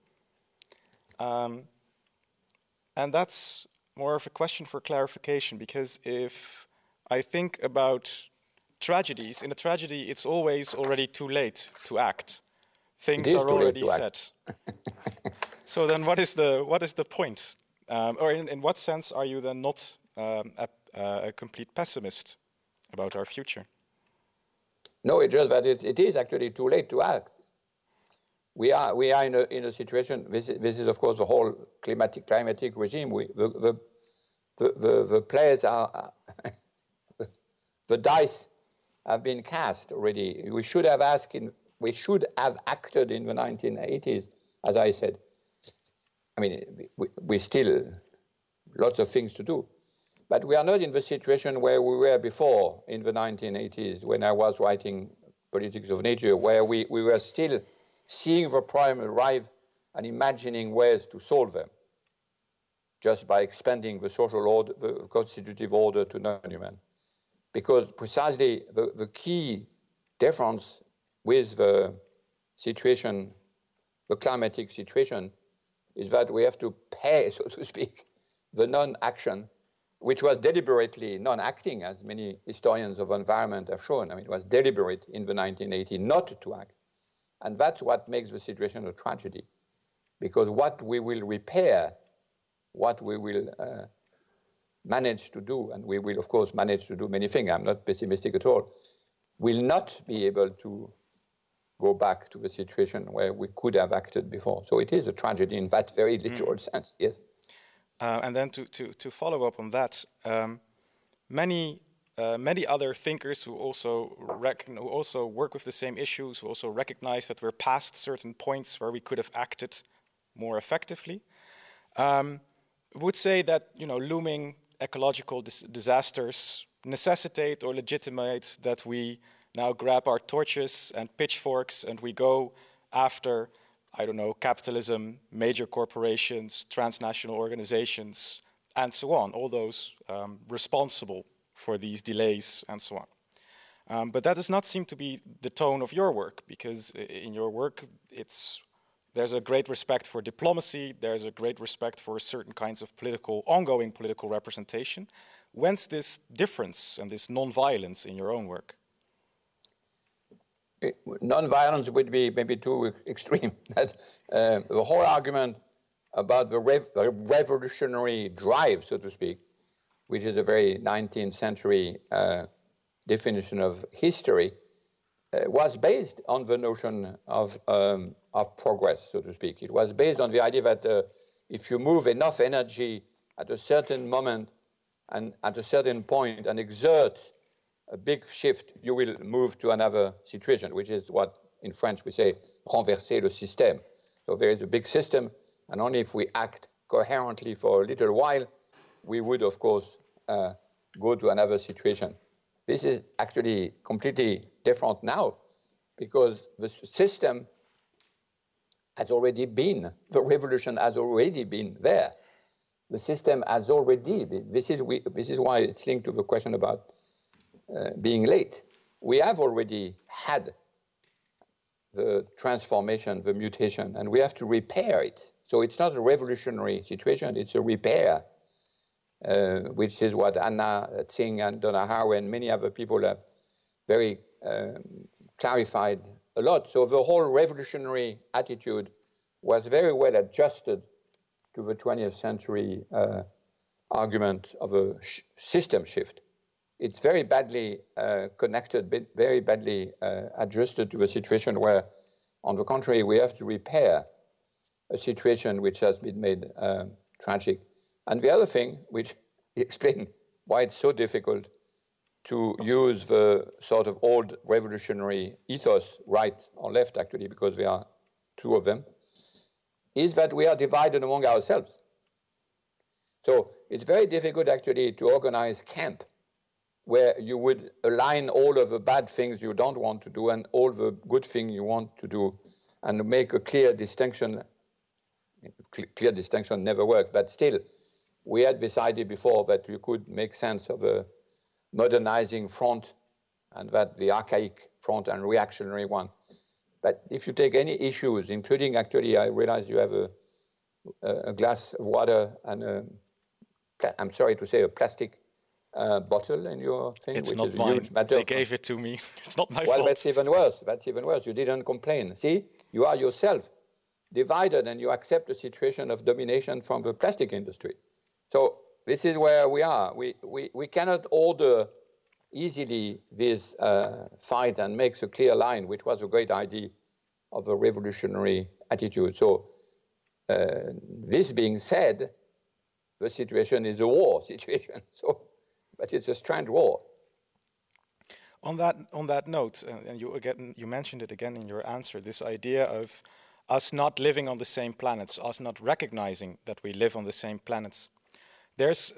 B: And that's more of a question for clarification, because if I think about tragedies, in a tragedy, it's always already too late to act. Things are already set. So then what is the point? Or in what sense are you then not a complete pessimist about our future?
C: No, it's just that it is actually too late to act. We are in a situation. This is of course the whole climatic regime. The players are the dice have been cast already. We should have acted in the 1980s, as I said. I mean, we still lots of things to do. But we are not in the situation where we were before in the 1980s, when I was writing Politics of Nature, where we were still seeing the problem arrive and imagining ways to solve them, just by expanding the social order, the constitutive order to non-human. Because precisely the key difference with the situation, the climatic situation, is that we have to pay, so to speak, the non-action, which was deliberately non-acting, as many historians of environment have shown. I mean, it was deliberate in the 1980s not to act. And that's what makes the situation a tragedy. Because what we will repair, what we will manage to do, and we will, of course, manage to do many things, I'm not pessimistic at all, will not be able to go back to the situation where we could have acted before. So it is a tragedy in that very literal sense, yes.
B: And then to follow up on that, many other thinkers who also work with the same issues, who also recognize that we're past certain points where we could have acted more effectively, would say that looming ecological disasters necessitate or legitimate that we now grab our torches and pitchforks and we go after I don't know, capitalism, major corporations, transnational organizations, and so on, all those responsible for these delays and so on. But that does not seem to be the tone of your work, because in your work, there's a great respect for diplomacy, there's a great respect for certain kinds of ongoing political representation. Whence this difference and this non-violence in your own work?
C: Non-violence would be maybe too extreme. The whole argument about the revolutionary drive, so to speak, which is a very 19th century definition of history, was based on the notion of progress, so to speak. It was based on the idea that if you move enough energy at a certain moment and at a certain point and exert a big shift, you will move to another situation, which is what in French we say renverser le système. So there is a big system, and only if we act coherently for a little while, we would, of course, go to another situation. This is actually completely different now, because the system has already been, the revolution has already been there. The system has already been. This is why it's linked to the question about being late. We have already had the transformation, the mutation, and we have to repair it. So it's not a revolutionary situation, it's a repair, which is what Anna Tsing and Donna Haraway and many other people have very clarified a lot. So the whole revolutionary attitude was very well adjusted to the 20th century argument of a system shift. It's very badly connected, very badly adjusted to the situation where, on the contrary, we have to repair a situation which has been made tragic. And the other thing, which explains why it's so difficult to use the sort of old revolutionary ethos, right or left actually, because there are two of them, is that we are divided among ourselves. So it's very difficult actually to organize camp where you would align all of the bad things you don't want to do and all the good things you want to do, and make a clear distinction. Clear distinction never worked, but still, we had decided before that you could make sense of a modernizing front and that the archaic front and reactionary one. But if you take any issues, including actually, I realize you have a glass of water and I'm sorry to say, a plastic bottle in your thing.
B: It's
C: which
B: not
C: is
B: mine.
C: A huge matter.
B: They gave it to me. It's not my
C: fault. Well, that's even worse. That's even worse. You didn't complain. See, you are yourself divided and you accept a situation of domination from the plastic industry. So this is where we are. We cannot order easily this fight and make a clear line, which was a great idea of a revolutionary attitude. So this being said, the situation is a war situation. So, but it's a strange war.
B: On that note, and you mentioned it again in your answer, this idea of us not living on the same planets, us not recognizing that we live on the same planets. There's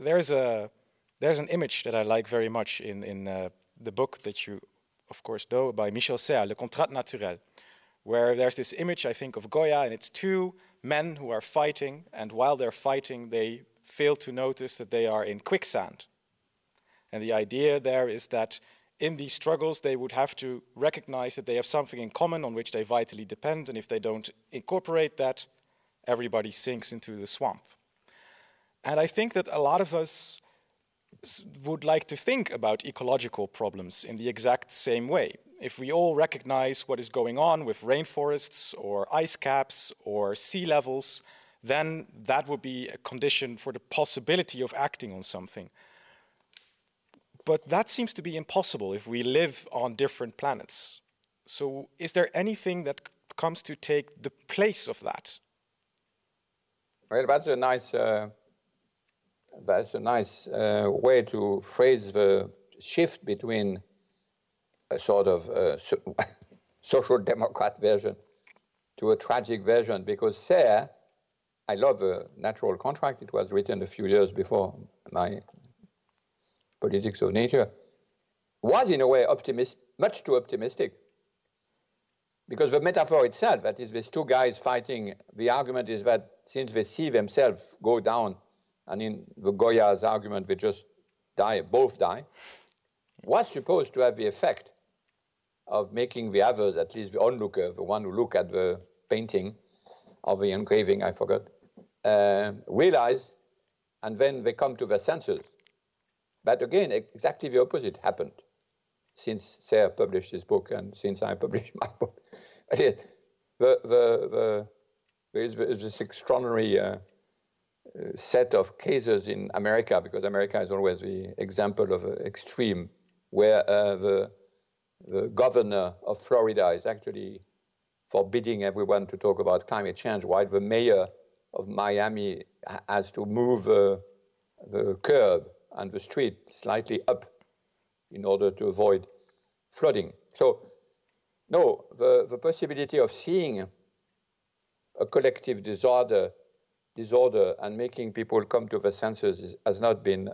B: an image that I like very much in the book that you, of course, know by Michel Serres, Le Contrat Naturel, where there's this image, I think, of Goya, and it's two men who are fighting, and while they're fighting, they fail to notice that they are in quicksand. And the idea there is that in these struggles, they would have to recognize that they have something in common on which they vitally depend, and if they don't incorporate that, everybody sinks into the swamp. And I think that a lot of us would like to think about ecological problems in the exact same way. If we all recognize what is going on with rainforests or ice caps or sea levels, then that would be a condition for the possibility of acting on something. But that seems to be impossible if we live on different planets. So is there anything that comes to take the place of that?
C: Well, that's a nice way to phrase the shift between a sort of social democrat version to a tragic version, because Serres, I love the Natural Contract. It was written a few years before my Politics of Nature, was in a way much too optimistic, because the metaphor itself, that is these two guys fighting, the argument is that since they see themselves go down, and in the Goya's argument, they just die, both die, was supposed to have the effect of making the others, at least the onlooker, the one who look at the painting or the engraving, I forgot, realize, and then they come to their senses. But again, exactly the opposite happened since Sarah published this book and since I published my book. There is this extraordinary set of cases in America, because America is always the example of an extreme, where the governor of Florida is actually forbidding everyone to talk about climate change, while the mayor of Miami has to move the curb and the street slightly up in order to avoid flooding. So, no, the possibility of seeing a collective disorder and making people come to their senses has not been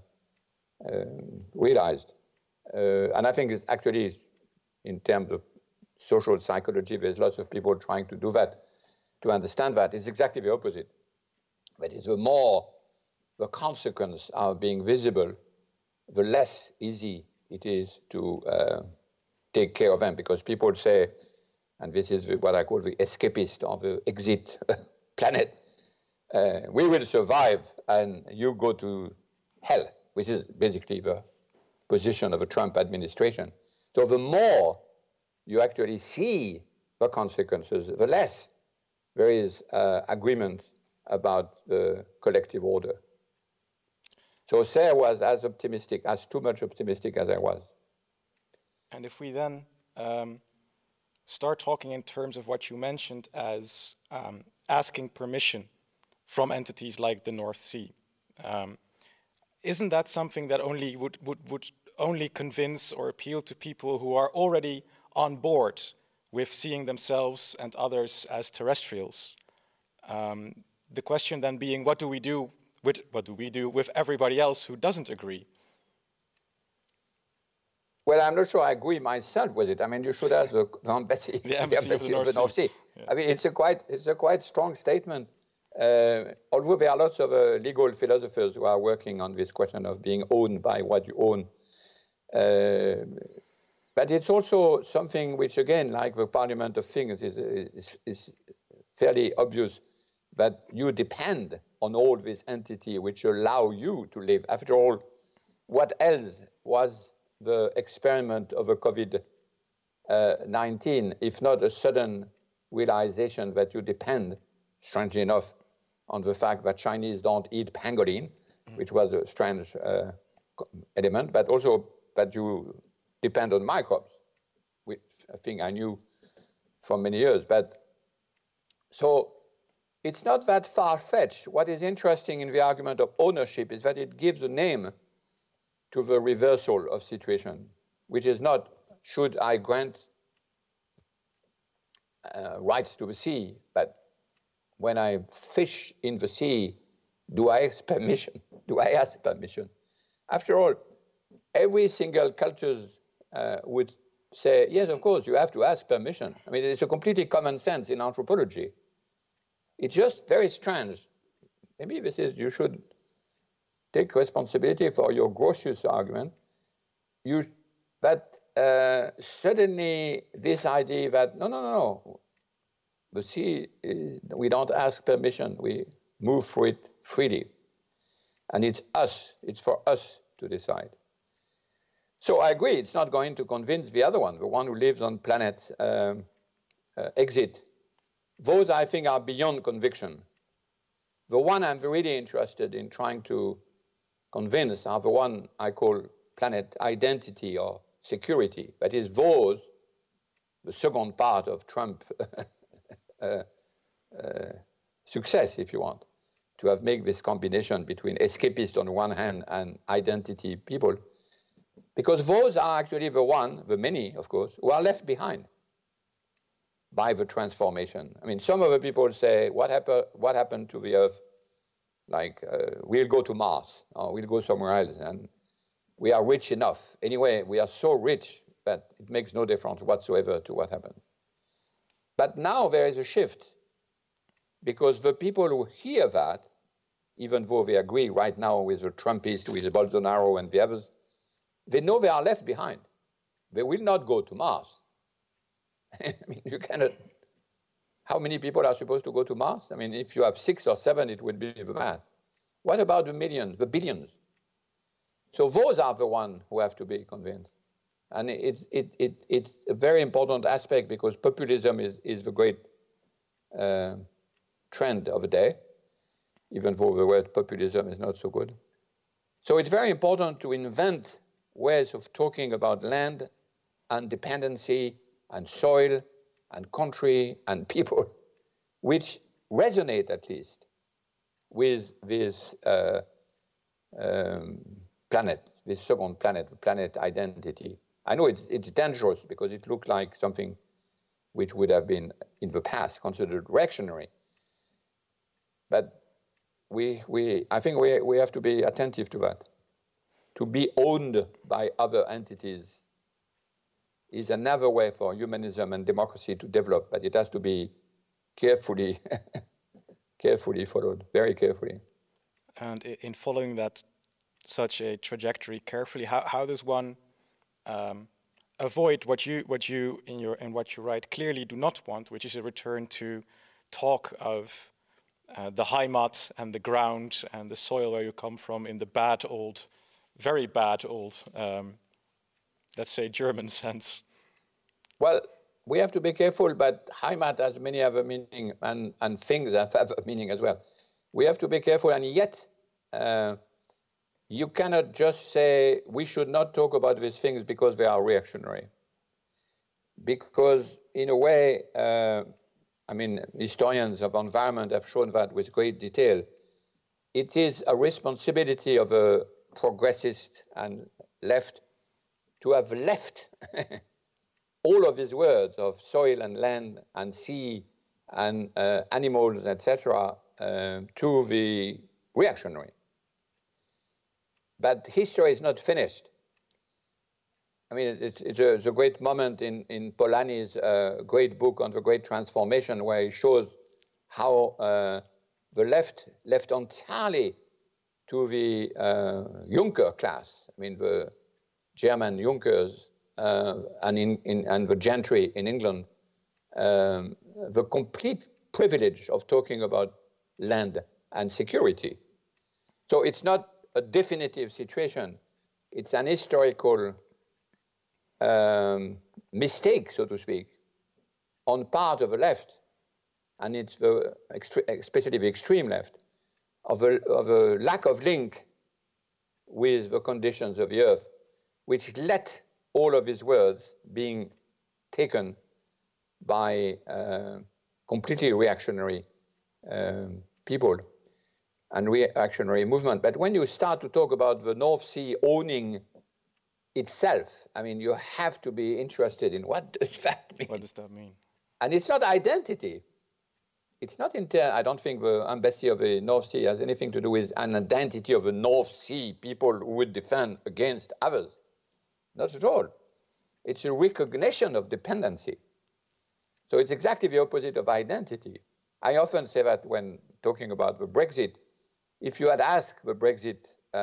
C: realized. And I think it's actually, in terms of social psychology, there's lots of people trying to do that, to understand that. It's exactly the opposite. That is, the more the consequences are being visible, the less easy it is to take care of them, because people say, and this is what I call the escapist or the exit planet, we will survive and you go to hell, which is basically the position of the Trump administration. So the more you actually see the consequences, the less there is agreement about the collective order. So Sarah was as optimistic, as too much optimistic as I was.
B: And if we then start talking in terms of what you mentioned as asking permission from entities like the North Sea, isn't that something that only would only convince or appeal to people who are already on board with seeing themselves and others as terrestrials? The question then being, what do we do with everybody else who doesn't agree?
C: Well, I'm not sure I agree myself with it. I mean, you should ask the embassy,
B: the embassy
C: of the North Sea. Yeah. I mean, it's a quite strong statement. Although there are lots of legal philosophers who are working on this question of being owned by what you own. But it's also something which, again, like the Parliament of Things, is fairly obvious, that you depend on all these entities which allow you to live. After all, what else was the experiment of a COVID-19, if not a sudden realization that you depend, strangely enough, on the fact that Chinese don't eat pangolin, which was a strange element, but also that you depend on microbes, which I think I knew for many years. But so it's not that far-fetched. What is interesting in the argument of ownership is that it gives a name to the reversal of situation, which is not, should I grant rights to the sea, but when I fish in the sea, do I ask permission? After all, every single culture would say, yes, of course, you have to ask permission. I mean, it's a completely common sense in anthropology. It's just very strange. Maybe this is, you should take responsibility for your Grotius argument. Suddenly this idea that, no, the sea, we don't ask permission, we move through it freely. And it's for us to decide. So I agree, it's not going to convince the other one, the one who lives on planet exit. Those, I think, are beyond conviction. The one I'm really interested in trying to convince are the one I call planet identity or security. That is those, the second part of Trump success, if you want, to have made this combination between escapist on one hand and identity people. Because those are actually the many, of course, who are left behind by the transformation. I mean, some of the people say, what happened to the Earth? Like, we'll go to Mars, or we'll go somewhere else, and we are rich enough. Anyway, we are so rich that it makes no difference whatsoever to what happened. But now there is a shift, because the people who hear that, even though they agree right now with the Trumpists, with Bolsonaro and the others, they know they are left behind. They will not go to Mars. I mean, you cannot. How many people are supposed to go to Mars? I mean, if you have 6 or 7, it would be the math. What about the millions, the billions? So those are the ones who have to be convinced. And it's a very important aspect, because populism is the great trend of the day, even though the word populism is not so good. So it's very important to invent ways of talking about land and dependency and soil and country and people, which resonate at least with this planet, this second planet, the planet identity. I know it's dangerous, because it looked like something which would have been in the past considered reactionary. But I think we have to be attentive to that. To be owned by other entities is another way for humanism and democracy to develop, but it has to be carefully followed, very carefully.
B: And in following that, such a trajectory carefully, how does one avoid what you write clearly do not want, which is a return to talk of the Heimat and the ground and the soil where you come from in the very bad old, let's say, German sense?
C: Well, we have to be careful, but Heimat has many other meaning, and things have other meaning as well. We have to be careful, and yet you cannot just say we should not talk about these things because they are reactionary. Because in a way, historians of environment have shown that with great detail. It is a responsibility of a progressist and left to have left all of his words of soil and land and sea and animals, etc., to the reactionary. But history is not finished. I mean, it's a great moment in Polanyi's great book on the Great Transformation, where he shows how the left entirely to the Junker class. I mean, the German Junkers and the gentry in England, the complete privilege of talking about land and security. So it's not a definitive situation. It's an historical mistake, so to speak, on part of the left, and it's especially the extreme left, of a lack of link with the conditions of the earth, which let all of his words being taken by completely reactionary people and reactionary movement. But when you start to talk about the North Sea owning itself, I mean, you have to be interested in what does that mean?
B: What does that mean?
C: And it's not identity. It's not I don't think the embassy of the North Sea has anything to do with an identity of the North Sea people who would defend against others. Not at all. It's a recognition of dependency. So it's exactly the opposite of identity. I often say that when talking about the Brexit, if you had asked the Brexit,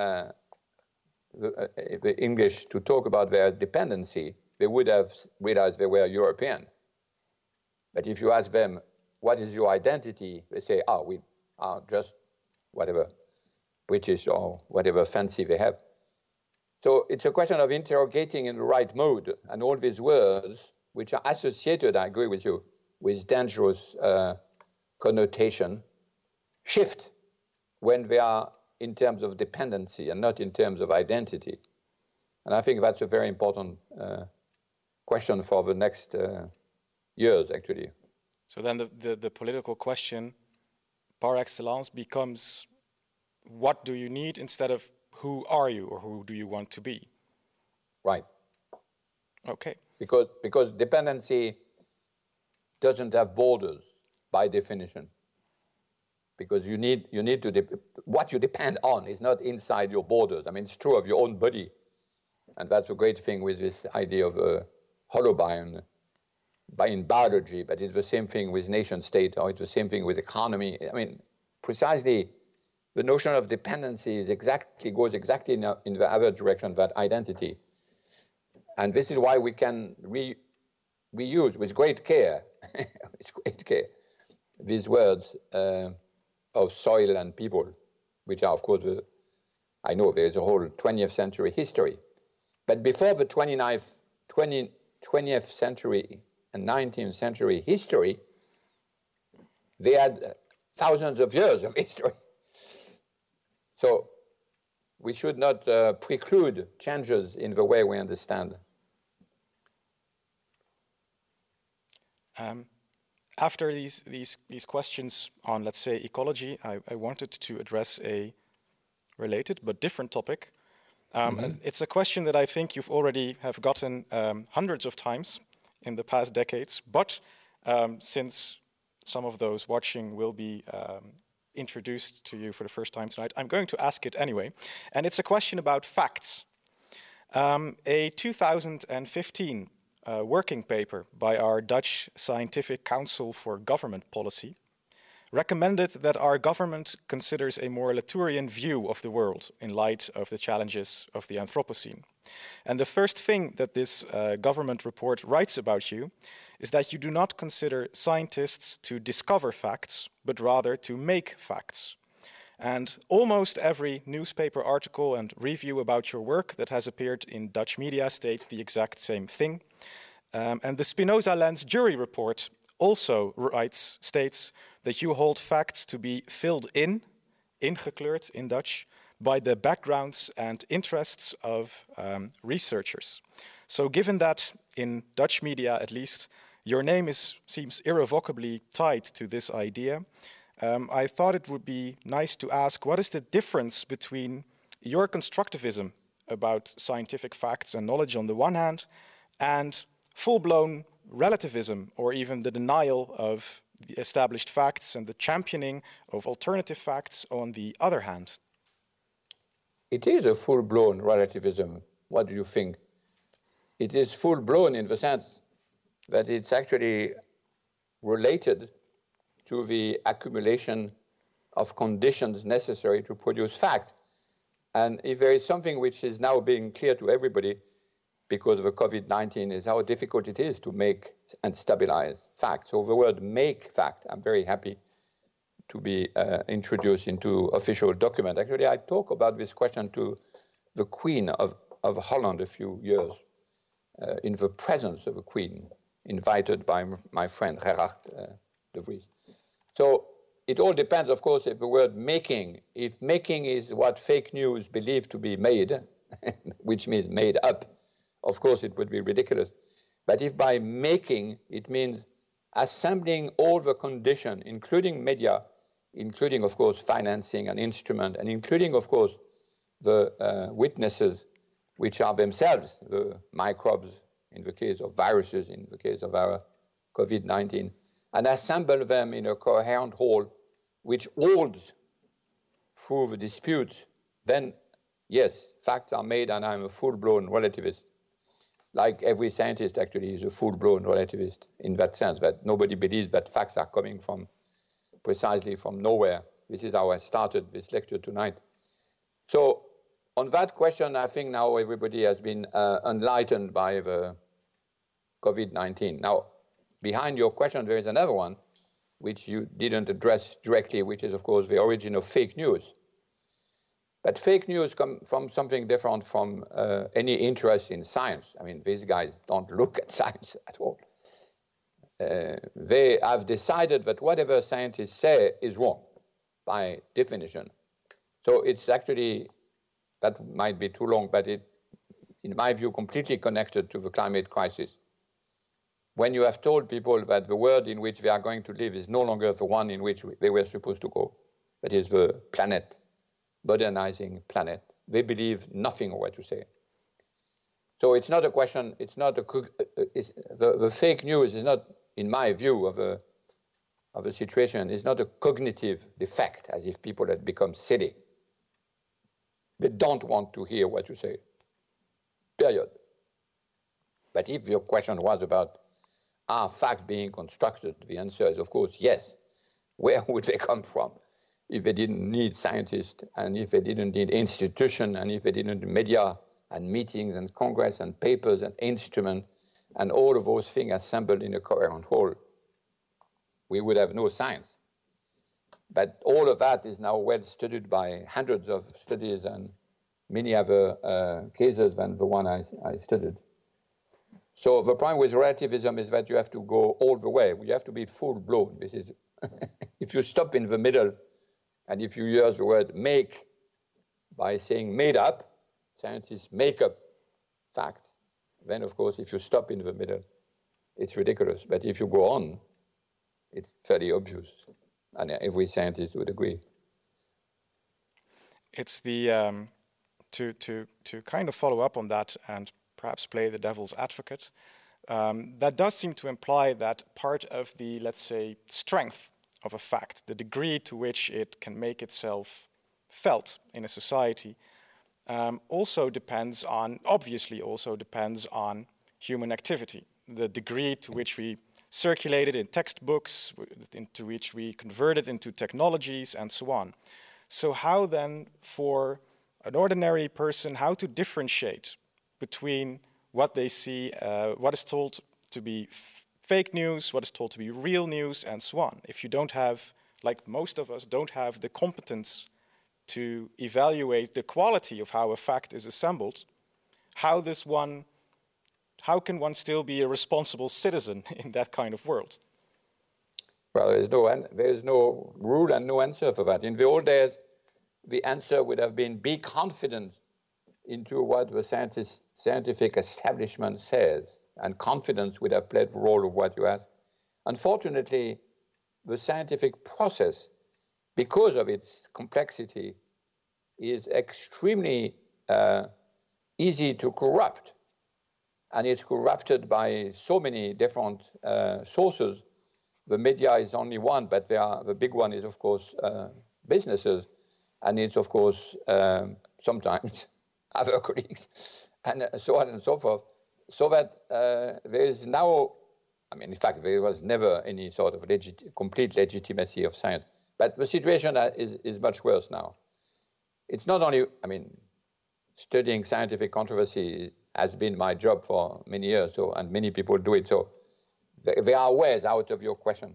C: the English to talk about their dependency, they would have realized they were European. But if you ask them, what is your identity? They say, we are just whatever, British or whatever fancy they have. So it's a question of interrogating in the right mode, and all these words, which are associated, I agree with you, with dangerous connotation, shift when they are in terms of dependency and not in terms of identity. And I think that's a very important question for the next years, actually.
B: So then the political question par excellence becomes, what do you need instead of who are you or who do you want to be?
C: Right.
B: Okay.
C: Because dependency doesn't have borders by definition. Because you need to what you depend on is not inside your borders. I mean, it's true of your own body, and that's a great thing with this idea of holobiome. in biology, but it's the same thing with nation state, or it's the same thing with economy. I mean, precisely the notion of dependency goes exactly in the other direction, that identity. And this is why we can reuse with great care, these words of soil and people, which are, of course, I know there is a whole 20th century history. But before the 20th century and 19th century history, they had thousands of years of history. So we should not preclude changes in the way we understand.
B: After these questions on, let's say, ecology, I wanted to address a related but different topic. And it's a question that I think you've already have gotten hundreds of times in the past decades, but since some of those watching will be introduced to you for the first time tonight, I'm going to ask it anyway. And it's a question about facts. A 2015 working paper by our Dutch Scientific Council for Government Policy recommended that our government considers a more Latourian view of the world in light of the challenges of the Anthropocene. And the first thing that this government report writes about you is that you do not consider scientists to discover facts, but rather to make facts. And almost every newspaper article and review about your work that has appeared in Dutch media states the exact same thing. And the Spinoza Lens jury report also states that you hold facts to be filled in, ingekleurd in Dutch, by the backgrounds and interests of researchers. So given that, in Dutch media at least, your name seems irrevocably tied to this idea, I thought it would be nice to ask, what is the difference between your constructivism about scientific facts and knowledge on the one hand, and full-blown relativism, or even the denial of the established facts and the championing of alternative facts on the other hand?
C: It is a full-blown relativism. What do you think? It is full-blown in the sense that it's actually related to the accumulation of conditions necessary to produce fact. And if there is something which is now being clear to everybody because of the COVID-19 is how difficult it is to make and stabilize fact. So the word make fact, I'm very happy to be introduced into official document. Actually, I talked about this question to the Queen of Holland a few years in the presence of the Queen, invited by my friend Gerard de Vries. So it all depends, of course, if the word making, if making is what fake news believe to be made, which means made up, of course it would be ridiculous. But if by making it means assembling all the conditions, including media, including, of course, financing and instrument, and including, of course, the witnesses, which are themselves the microbes, in the case of viruses, in the case of our COVID-19, and assemble them in a coherent whole, which holds through the disputes, then, yes, facts are made, and I'm a full-blown relativist. Like every scientist actually is a full-blown relativist in that sense, that nobody believes that facts are coming from precisely from nowhere. This is how I started this lecture tonight. So on that question, I think now everybody has been enlightened by the COVID-19. Now, behind your question, there is another one, which you didn't address directly, which is, of course, the origin of fake news. But fake news come from something different from any interest in science. I mean, these guys don't look at science at all. They have decided that whatever scientists say is wrong, by definition. So it's actually, that might be too long, but it, in my view, completely connected to the climate crisis. When you have told people that the world in which they are going to live is no longer the one in which they were supposed to go, that is the planet, modernizing planet, they believe nothing of what you say. So it's not a question, it's not the fake news is not, in my view of a situation, is not a cognitive defect, as if people had become silly. They don't want to hear what you say, period. But if your question was about are facts being constructed? The answer is, of course, yes. Where would they come from if they didn't need scientists, and if they didn't need institutions, and if they didn't need media and meetings and congress and papers and instruments and all of those things assembled in a coherent whole? We would have no science. But all of that is now well studied by hundreds of studies and many other cases than the one I studied. So the problem with relativism is that you have to go all the way. You have to be full-blown. This is if you stop in the middle, and if you use the word make by saying made up, scientists make up facts, then, of course, if you stop in the middle, it's ridiculous. But if you go on, it's fairly obvious. And every scientist would agree.
B: It's the to kind of follow up on that and perhaps play the devil's advocate. That does seem to imply that part of the, let's say, strength of a fact, the degree to which it can make itself felt in a society, obviously also depends on human activity. The degree to which we circulate it in textbooks, into which we convert it into technologies, and so on. So how then, for an ordinary person, how to differentiate between what they see, what is told to be fake news, what is told to be real news, and so on? If you don't have, like most of us, don't have the competence to evaluate the quality of how a fact is assembled, how can one still be a responsible citizen in that kind of world?
C: Well, there is no rule and no answer for that. In the old days, the answer would have been be confident into what the scientific establishment says, and confidence would have played the role of what you asked. Unfortunately, the scientific process, because of its complexity, is extremely easy to corrupt. And it's corrupted by so many different sources. The media is only one, but the big one is, of course, businesses. And it's, of course, sometimes other colleagues, and so on and so forth. So that there is now, in fact, there was never any sort of complete legitimacy of science. But the situation is much worse now. It's not only, studying scientific controversy has been my job for many years, and many people do it. So there are ways out of your question,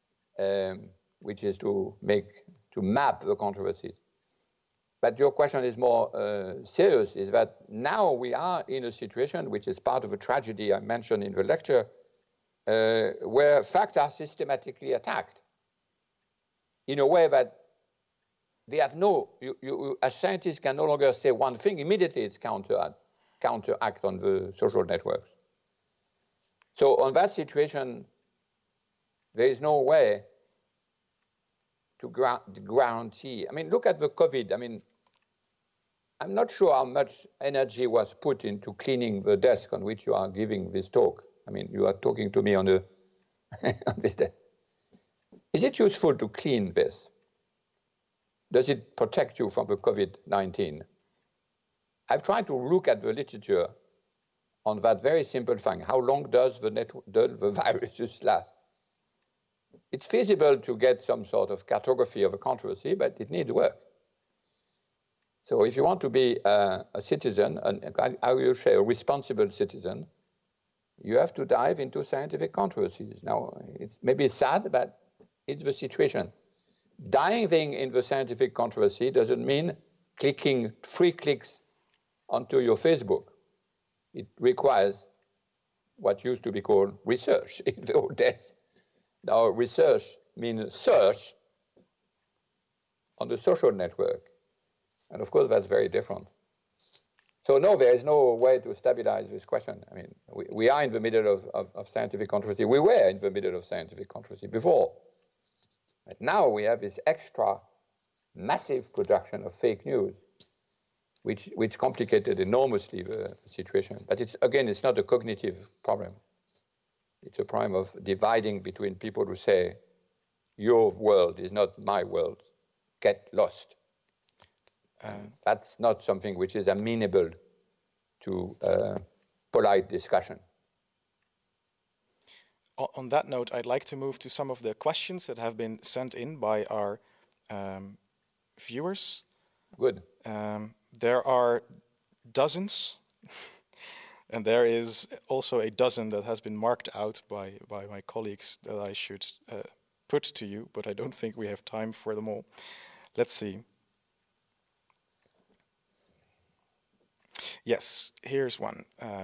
C: which is to map the controversies. But your question is more serious, is that now we are in a situation which is part of a tragedy I mentioned in the lecture, where facts are systematically attacked in a way that they have you as scientists can no longer say one thing, immediately it's counteract on the social networks. So on that situation, there is no way to guarantee. Look at the COVID. I'm not sure how much energy was put into cleaning the desk on which you are giving this talk. You are talking to me on this desk. Is it useful to clean this? Does it protect you from the COVID-19? I've tried to look at the literature on that very simple thing. How long does the virus last? It's feasible to get some sort of cartography of a controversy, but it needs work. So if you want to be a citizen, I will say a responsible citizen, you have to dive into scientific controversies. Now, it's maybe sad, but it's the situation. Diving in the scientific controversy doesn't mean clicking 3 clicks onto your Facebook. It requires what used to be called research in the old days. Now, research means search on the social network. And of course, that's very different. So no, there is no way to stabilize this question. We are in the middle of scientific controversy. We were in the middle of scientific controversy before. But now we have this extra massive production of fake news, which complicated enormously the situation. But it's not a cognitive problem. It's a problem of dividing between people who say, your world is not my world, get lost. That's not something which is amenable to polite discussion.
B: On that note, I'd like to move to some of the questions that have been sent in by our viewers.
C: Good.
B: There are dozens, and there is also a dozen that has been marked out by my colleagues that I should put to you, but I don't think we have time for them all. Let's see. Yes, here's one.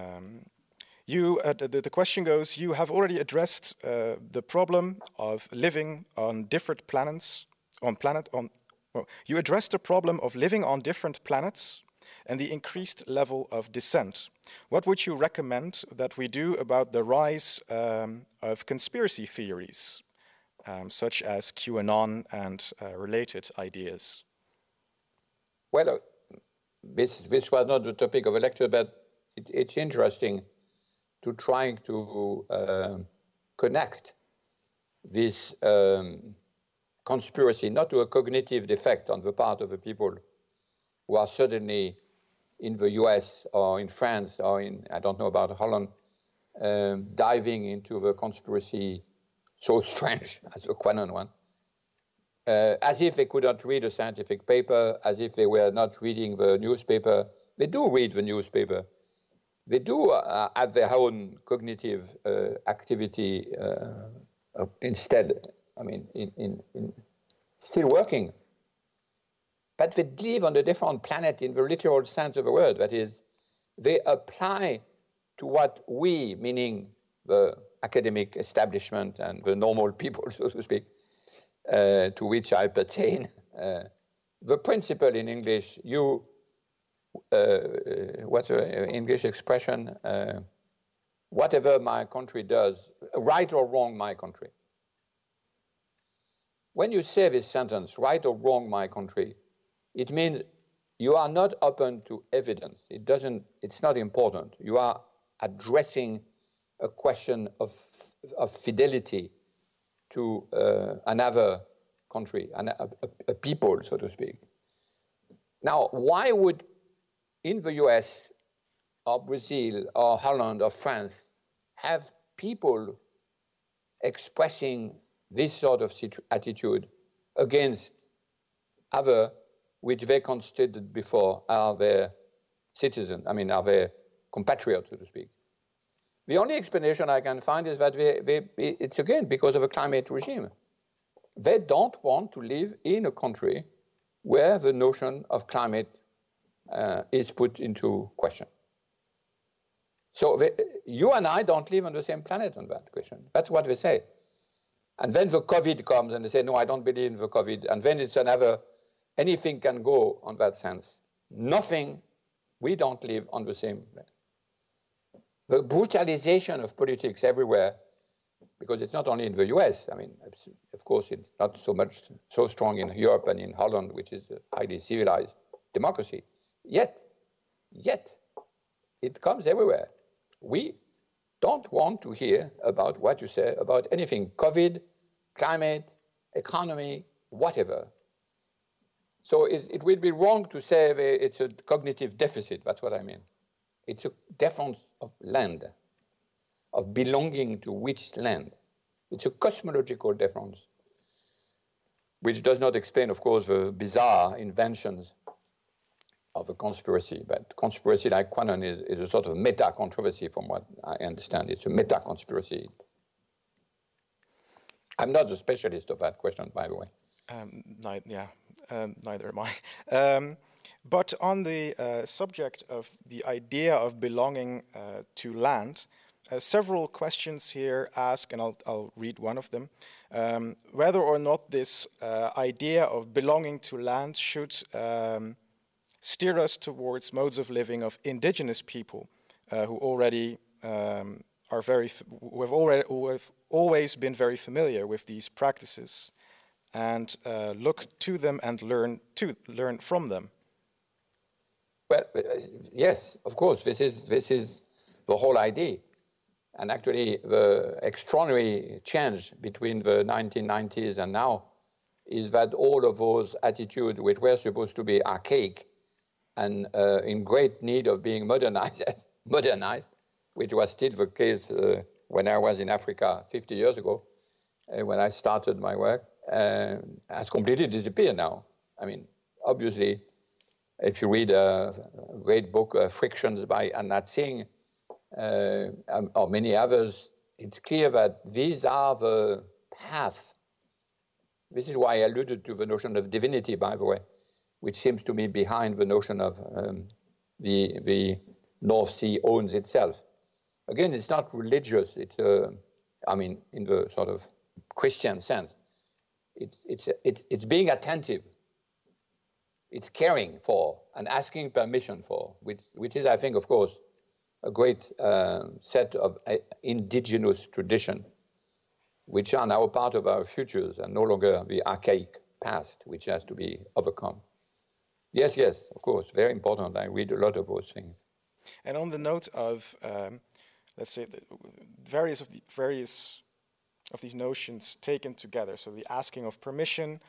B: The question goes, you have already addressed the problem of living on different planets, you addressed the problem of living on different planets and the increased level of dissent. What would you recommend that we do about the rise of conspiracy theories, such as QAnon and related ideas?
C: Well, this was not the topic of a lecture, but it's interesting to trying to connect this conspiracy, not to a cognitive defect on the part of the people who are suddenly in the US or in France or in, I don't know about Holland, diving into the conspiracy so strange as the QAnon one, as if they could not read a scientific paper, as if they were not reading the newspaper. They do read the newspaper. They do have their own cognitive activity instead, I mean, in still working. But they live on a different planet in the literal sense of the word. That is, they apply to what we, meaning the academic establishment and the normal people, so to speak, to which I pertain. The principle in English, what's the English expression? Whatever my country does, right or wrong, my country. When you say this sentence, right or wrong, my country, it means you are not open to evidence. It's not important. You are addressing a question of fidelity to another country, a people, so to speak. Now, why would in the US or Brazil or Holland or France have people expressing this sort of attitude against other which they considered before are their citizens, are their compatriots, so to speak? The only explanation I can find is that it's again because of a climate regime. They don't want to live in a country where the notion of climate is put into question. So you and I don't live on the same planet on that question. That's what they say. And then the COVID comes and they say, no, I don't believe in the COVID. And then it's anything can go on that sense. Nothing, we don't live on the same planet. The brutalization of politics everywhere, because it's not only in the US, of course, it's not so strong in Europe and in Holland, which is a highly civilized democracy. Yet, it comes everywhere. We don't want to hear about what you say about anything, COVID, climate, economy, whatever. So it will be wrong to say it's a cognitive deficit, that's what I mean. It's a difference of land, of belonging to which land. It's a cosmological difference, which does not explain, of course, the bizarre inventions of a conspiracy. But conspiracy like QAnon is a sort of meta-controversy from what I understand. It's a meta-conspiracy. I'm not a specialist of that question, by the way.
B: Neither am I. But on the subject of the idea of belonging to land, several questions here ask, and I'll read one of them, whether or not this idea of belonging to land should steer us towards modes of living of indigenous people who already who have always been very familiar with these practices, and look to them and learn from them.
C: Well, yes, of course, this is the whole idea. And actually, the extraordinary change between the 1990s and now is that all of those attitudes which were supposed to be archaic and in great need of being modernized, which was still the case when I was in Africa 50 years ago, when I started my work, has completely disappeared now. I mean, obviously, if you read a great book, Frictions by Anat Singh, or many others, it's clear that these are the paths. This is why I alluded to the notion of divinity, by the way, which seems to be behind the notion of the North Sea owns itself. Again, it's not religious. It's, I mean, in the sort of Christian sense. It's being attentive. It's caring for and asking permission for, which is, I think, of course, a great set of indigenous tradition, which are now part of our futures and no longer the archaic past, which has to be overcome. Yes, of course, very important. I read a lot of those things.
B: And on the note of, let's say, various of these notions taken together, so the asking of permission,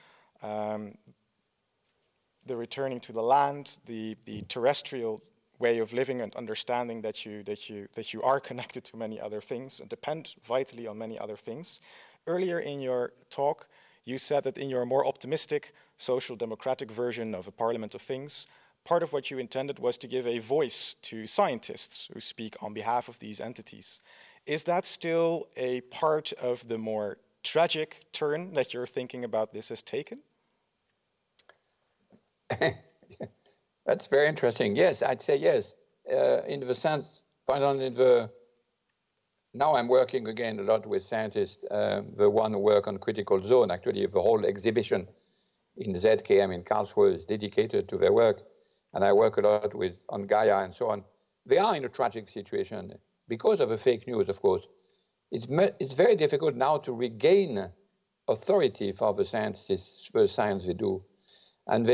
B: the returning to the land, the terrestrial way of living and understanding that you are connected to many other things and depend vitally on many other things. Earlier in your talk, you said that in your more optimistic social democratic version of a parliament of things, part of what you intended was to give a voice to scientists who speak on behalf of these entities. Is that still a part of the more tragic turn that you're thinking about this has taken?
C: That's very interesting. Yes, I'd say yes. In the sense, now I'm working again a lot with scientists, the one who work on critical zone. Actually, the whole exhibition in ZKM in Karlsruhe is dedicated to their work. And I work a lot on Gaia and so on. They are in a tragic situation because of the fake news, of course. It's very difficult now to regain authority for the science they do. And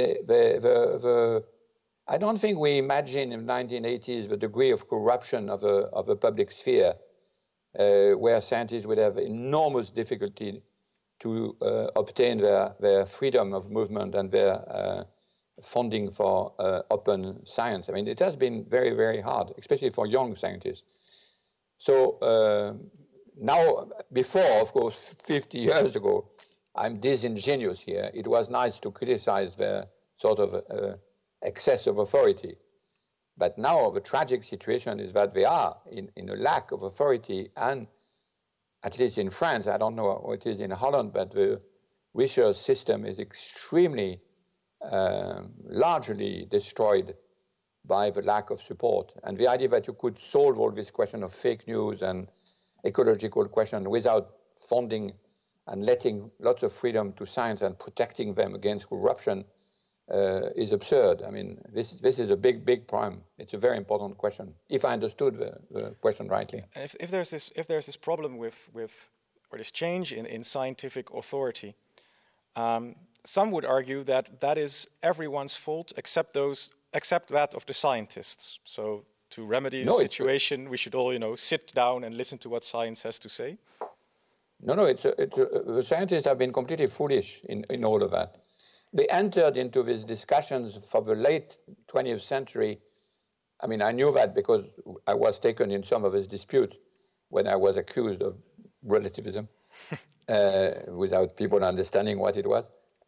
C: I don't think we imagine in the 1980s the degree of corruption of a public sphere where scientists would have enormous difficulty to obtain their freedom of movement and their funding for open science. I mean, it has been very, very hard, especially for young scientists. So now, before, of course, 50 years ago, I'm disingenuous here. It was nice to criticize their sort of excess of authority. But now the tragic situation is that they are in a lack of authority, and at least in France, I don't know what it is in Holland, but the research system is extremely largely destroyed by the lack of support. And the idea that you could solve all this question of fake news and ecological question without funding and letting lots of freedom to science and protecting them against corruption is absurd. I mean, this is a big problem. It's a very important question, if I understood the question rightly.
B: And if there's this problem with or this change in scientific authority, some would argue that is everyone's fault except that of the scientists. So to remedy the situation, we should all sit down and listen to what science has to say.
C: No, the scientists have been completely foolish in all of that. They entered into these discussions for the late 20th century. I mean, I knew that because I was taken in some of his disputes when I was accused of relativism without people understanding what it was.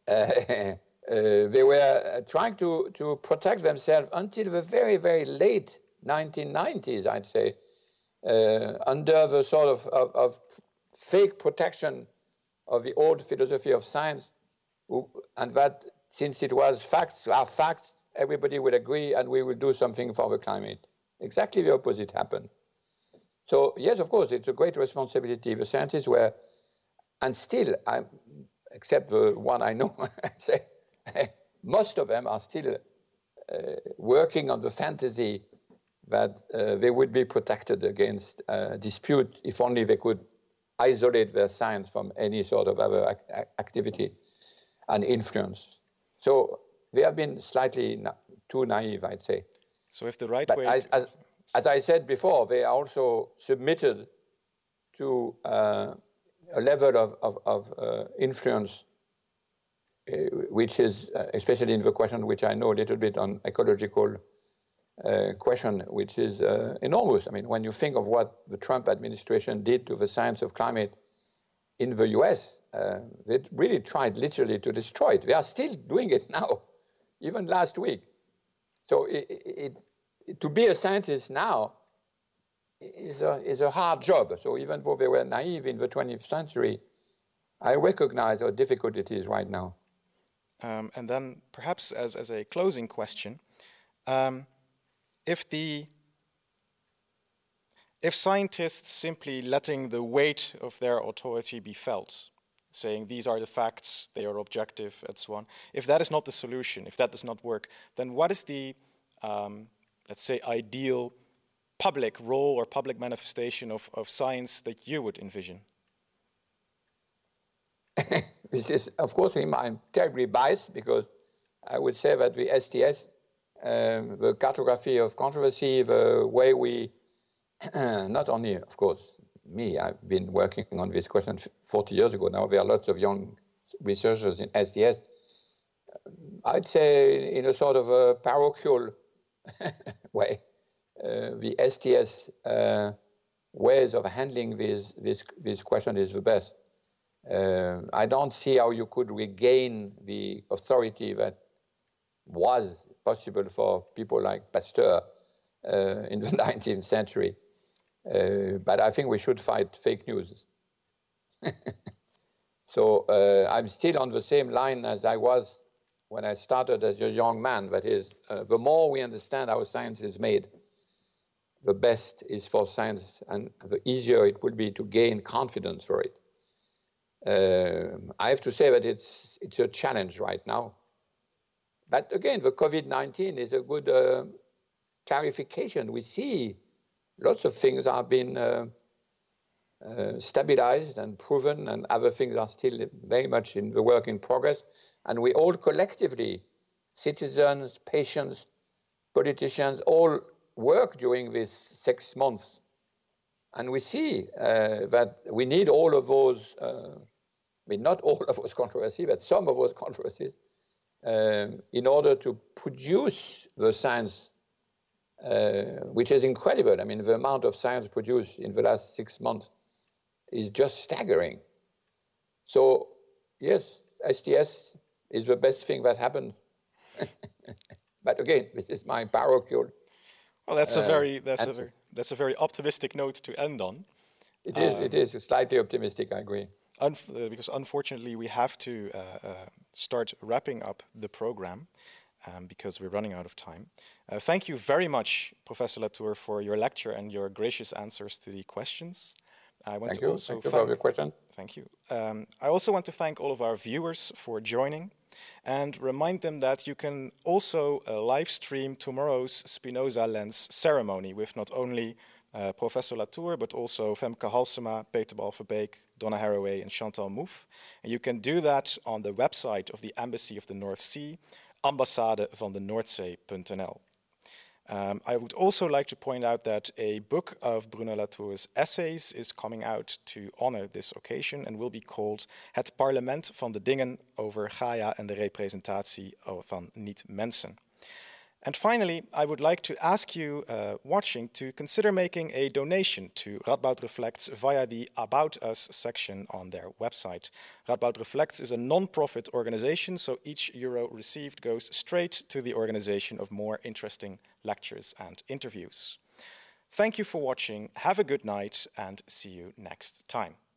C: They were trying to protect themselves until the very, very late 1990s, I'd say, under the sort of fake protection of the old philosophy of science, and that since it was facts are facts, everybody would agree and we will do something for the climate. Exactly the opposite happened. So yes, of course, it's a great responsibility. The scientists were, and still, except the one I know, most of them are still working on the fantasy that they would be protected against dispute if only they could isolate their science from any sort of other activity and influence. So they have been slightly too naive, I'd say.
B: So if the right
C: but
B: way...
C: As I said before, they are also submitted to a level of influence, which is, especially in the question which I know a little bit on ecological question, which is enormous. I mean, when you think of what the Trump administration did to the science of climate in the US, they really tried literally to destroy it. They are still doing it now, even last week. So to be a scientist now is a hard job. So even though they were naive in the 20th century, I recognize how difficult it is right now.
B: And then perhaps as a closing question, if scientists simply letting the weight of their authority be felt, saying these are the facts, they are objective, and so on, if that is not the solution, if that does not work, then what is the, let's say, ideal public role or public manifestation of science that you would envision?
C: This is, of course, I'm terribly biased because I would say that the STS, the cartography of controversy, the way we, not only, of course, me, I've been working on this question 40 years ago now. There are lots of young researchers in STS. I'd say in a sort of a parochial way, the STS ways of handling this question is the best. I don't see how you could regain the authority that was possible for people like Pasteur in the 19th century. But I think we should fight fake news. So I'm still on the same line as I was when I started as a young man. That is, the more we understand how science is made, the best is for science, and the easier it will be to gain confidence for it. I have to say that it's a challenge right now. But again, the COVID-19 is a good clarification. We see lots of things are being stabilized and proven, and other things are still very much in the work in progress. And we all collectively, citizens, patients, politicians, all work during these 6 months. And we see that we need all of those, not all of those controversies, but some of those controversies, in order to produce the science, which is incredible. I mean, the amount of science produced in the last 6 months is just staggering. So, yes, STS is the best thing that happened. But again, this is my parochial.
B: Well, that's a very optimistic note to end on.
C: It is slightly optimistic, I agree.
B: Because unfortunately we have to start wrapping up the program because we're running out of time. Thank you very much, Professor Latour, for your lecture and your gracious answers to the questions.
C: Thank you for your question.
B: Thank you. I also want to thank all of our viewers for joining and remind them that you can also live stream tomorrow's Spinoza Lens ceremony with not only Professor Latour, but also Femke Halsema, Peter Balverbeek, Donna Haraway, and Chantal Mouffe. And you can do that on the website of the Embassy of the North Sea, ambassadevandenoordzee.nl. I would also like to point out that a book of Bruno Latour's essays is coming out to honor this occasion and will be called Het Parlement van de Dingen over Gaia en de representatie van niet-mensen. And finally, I would like to ask you watching to consider making a donation to Radboud Reflects via the About Us section on their website. Radboud Reflects is a non-profit organization, so each euro received goes straight to the organization of more interesting lectures and interviews. Thank you for watching, have a good night, and see you next time.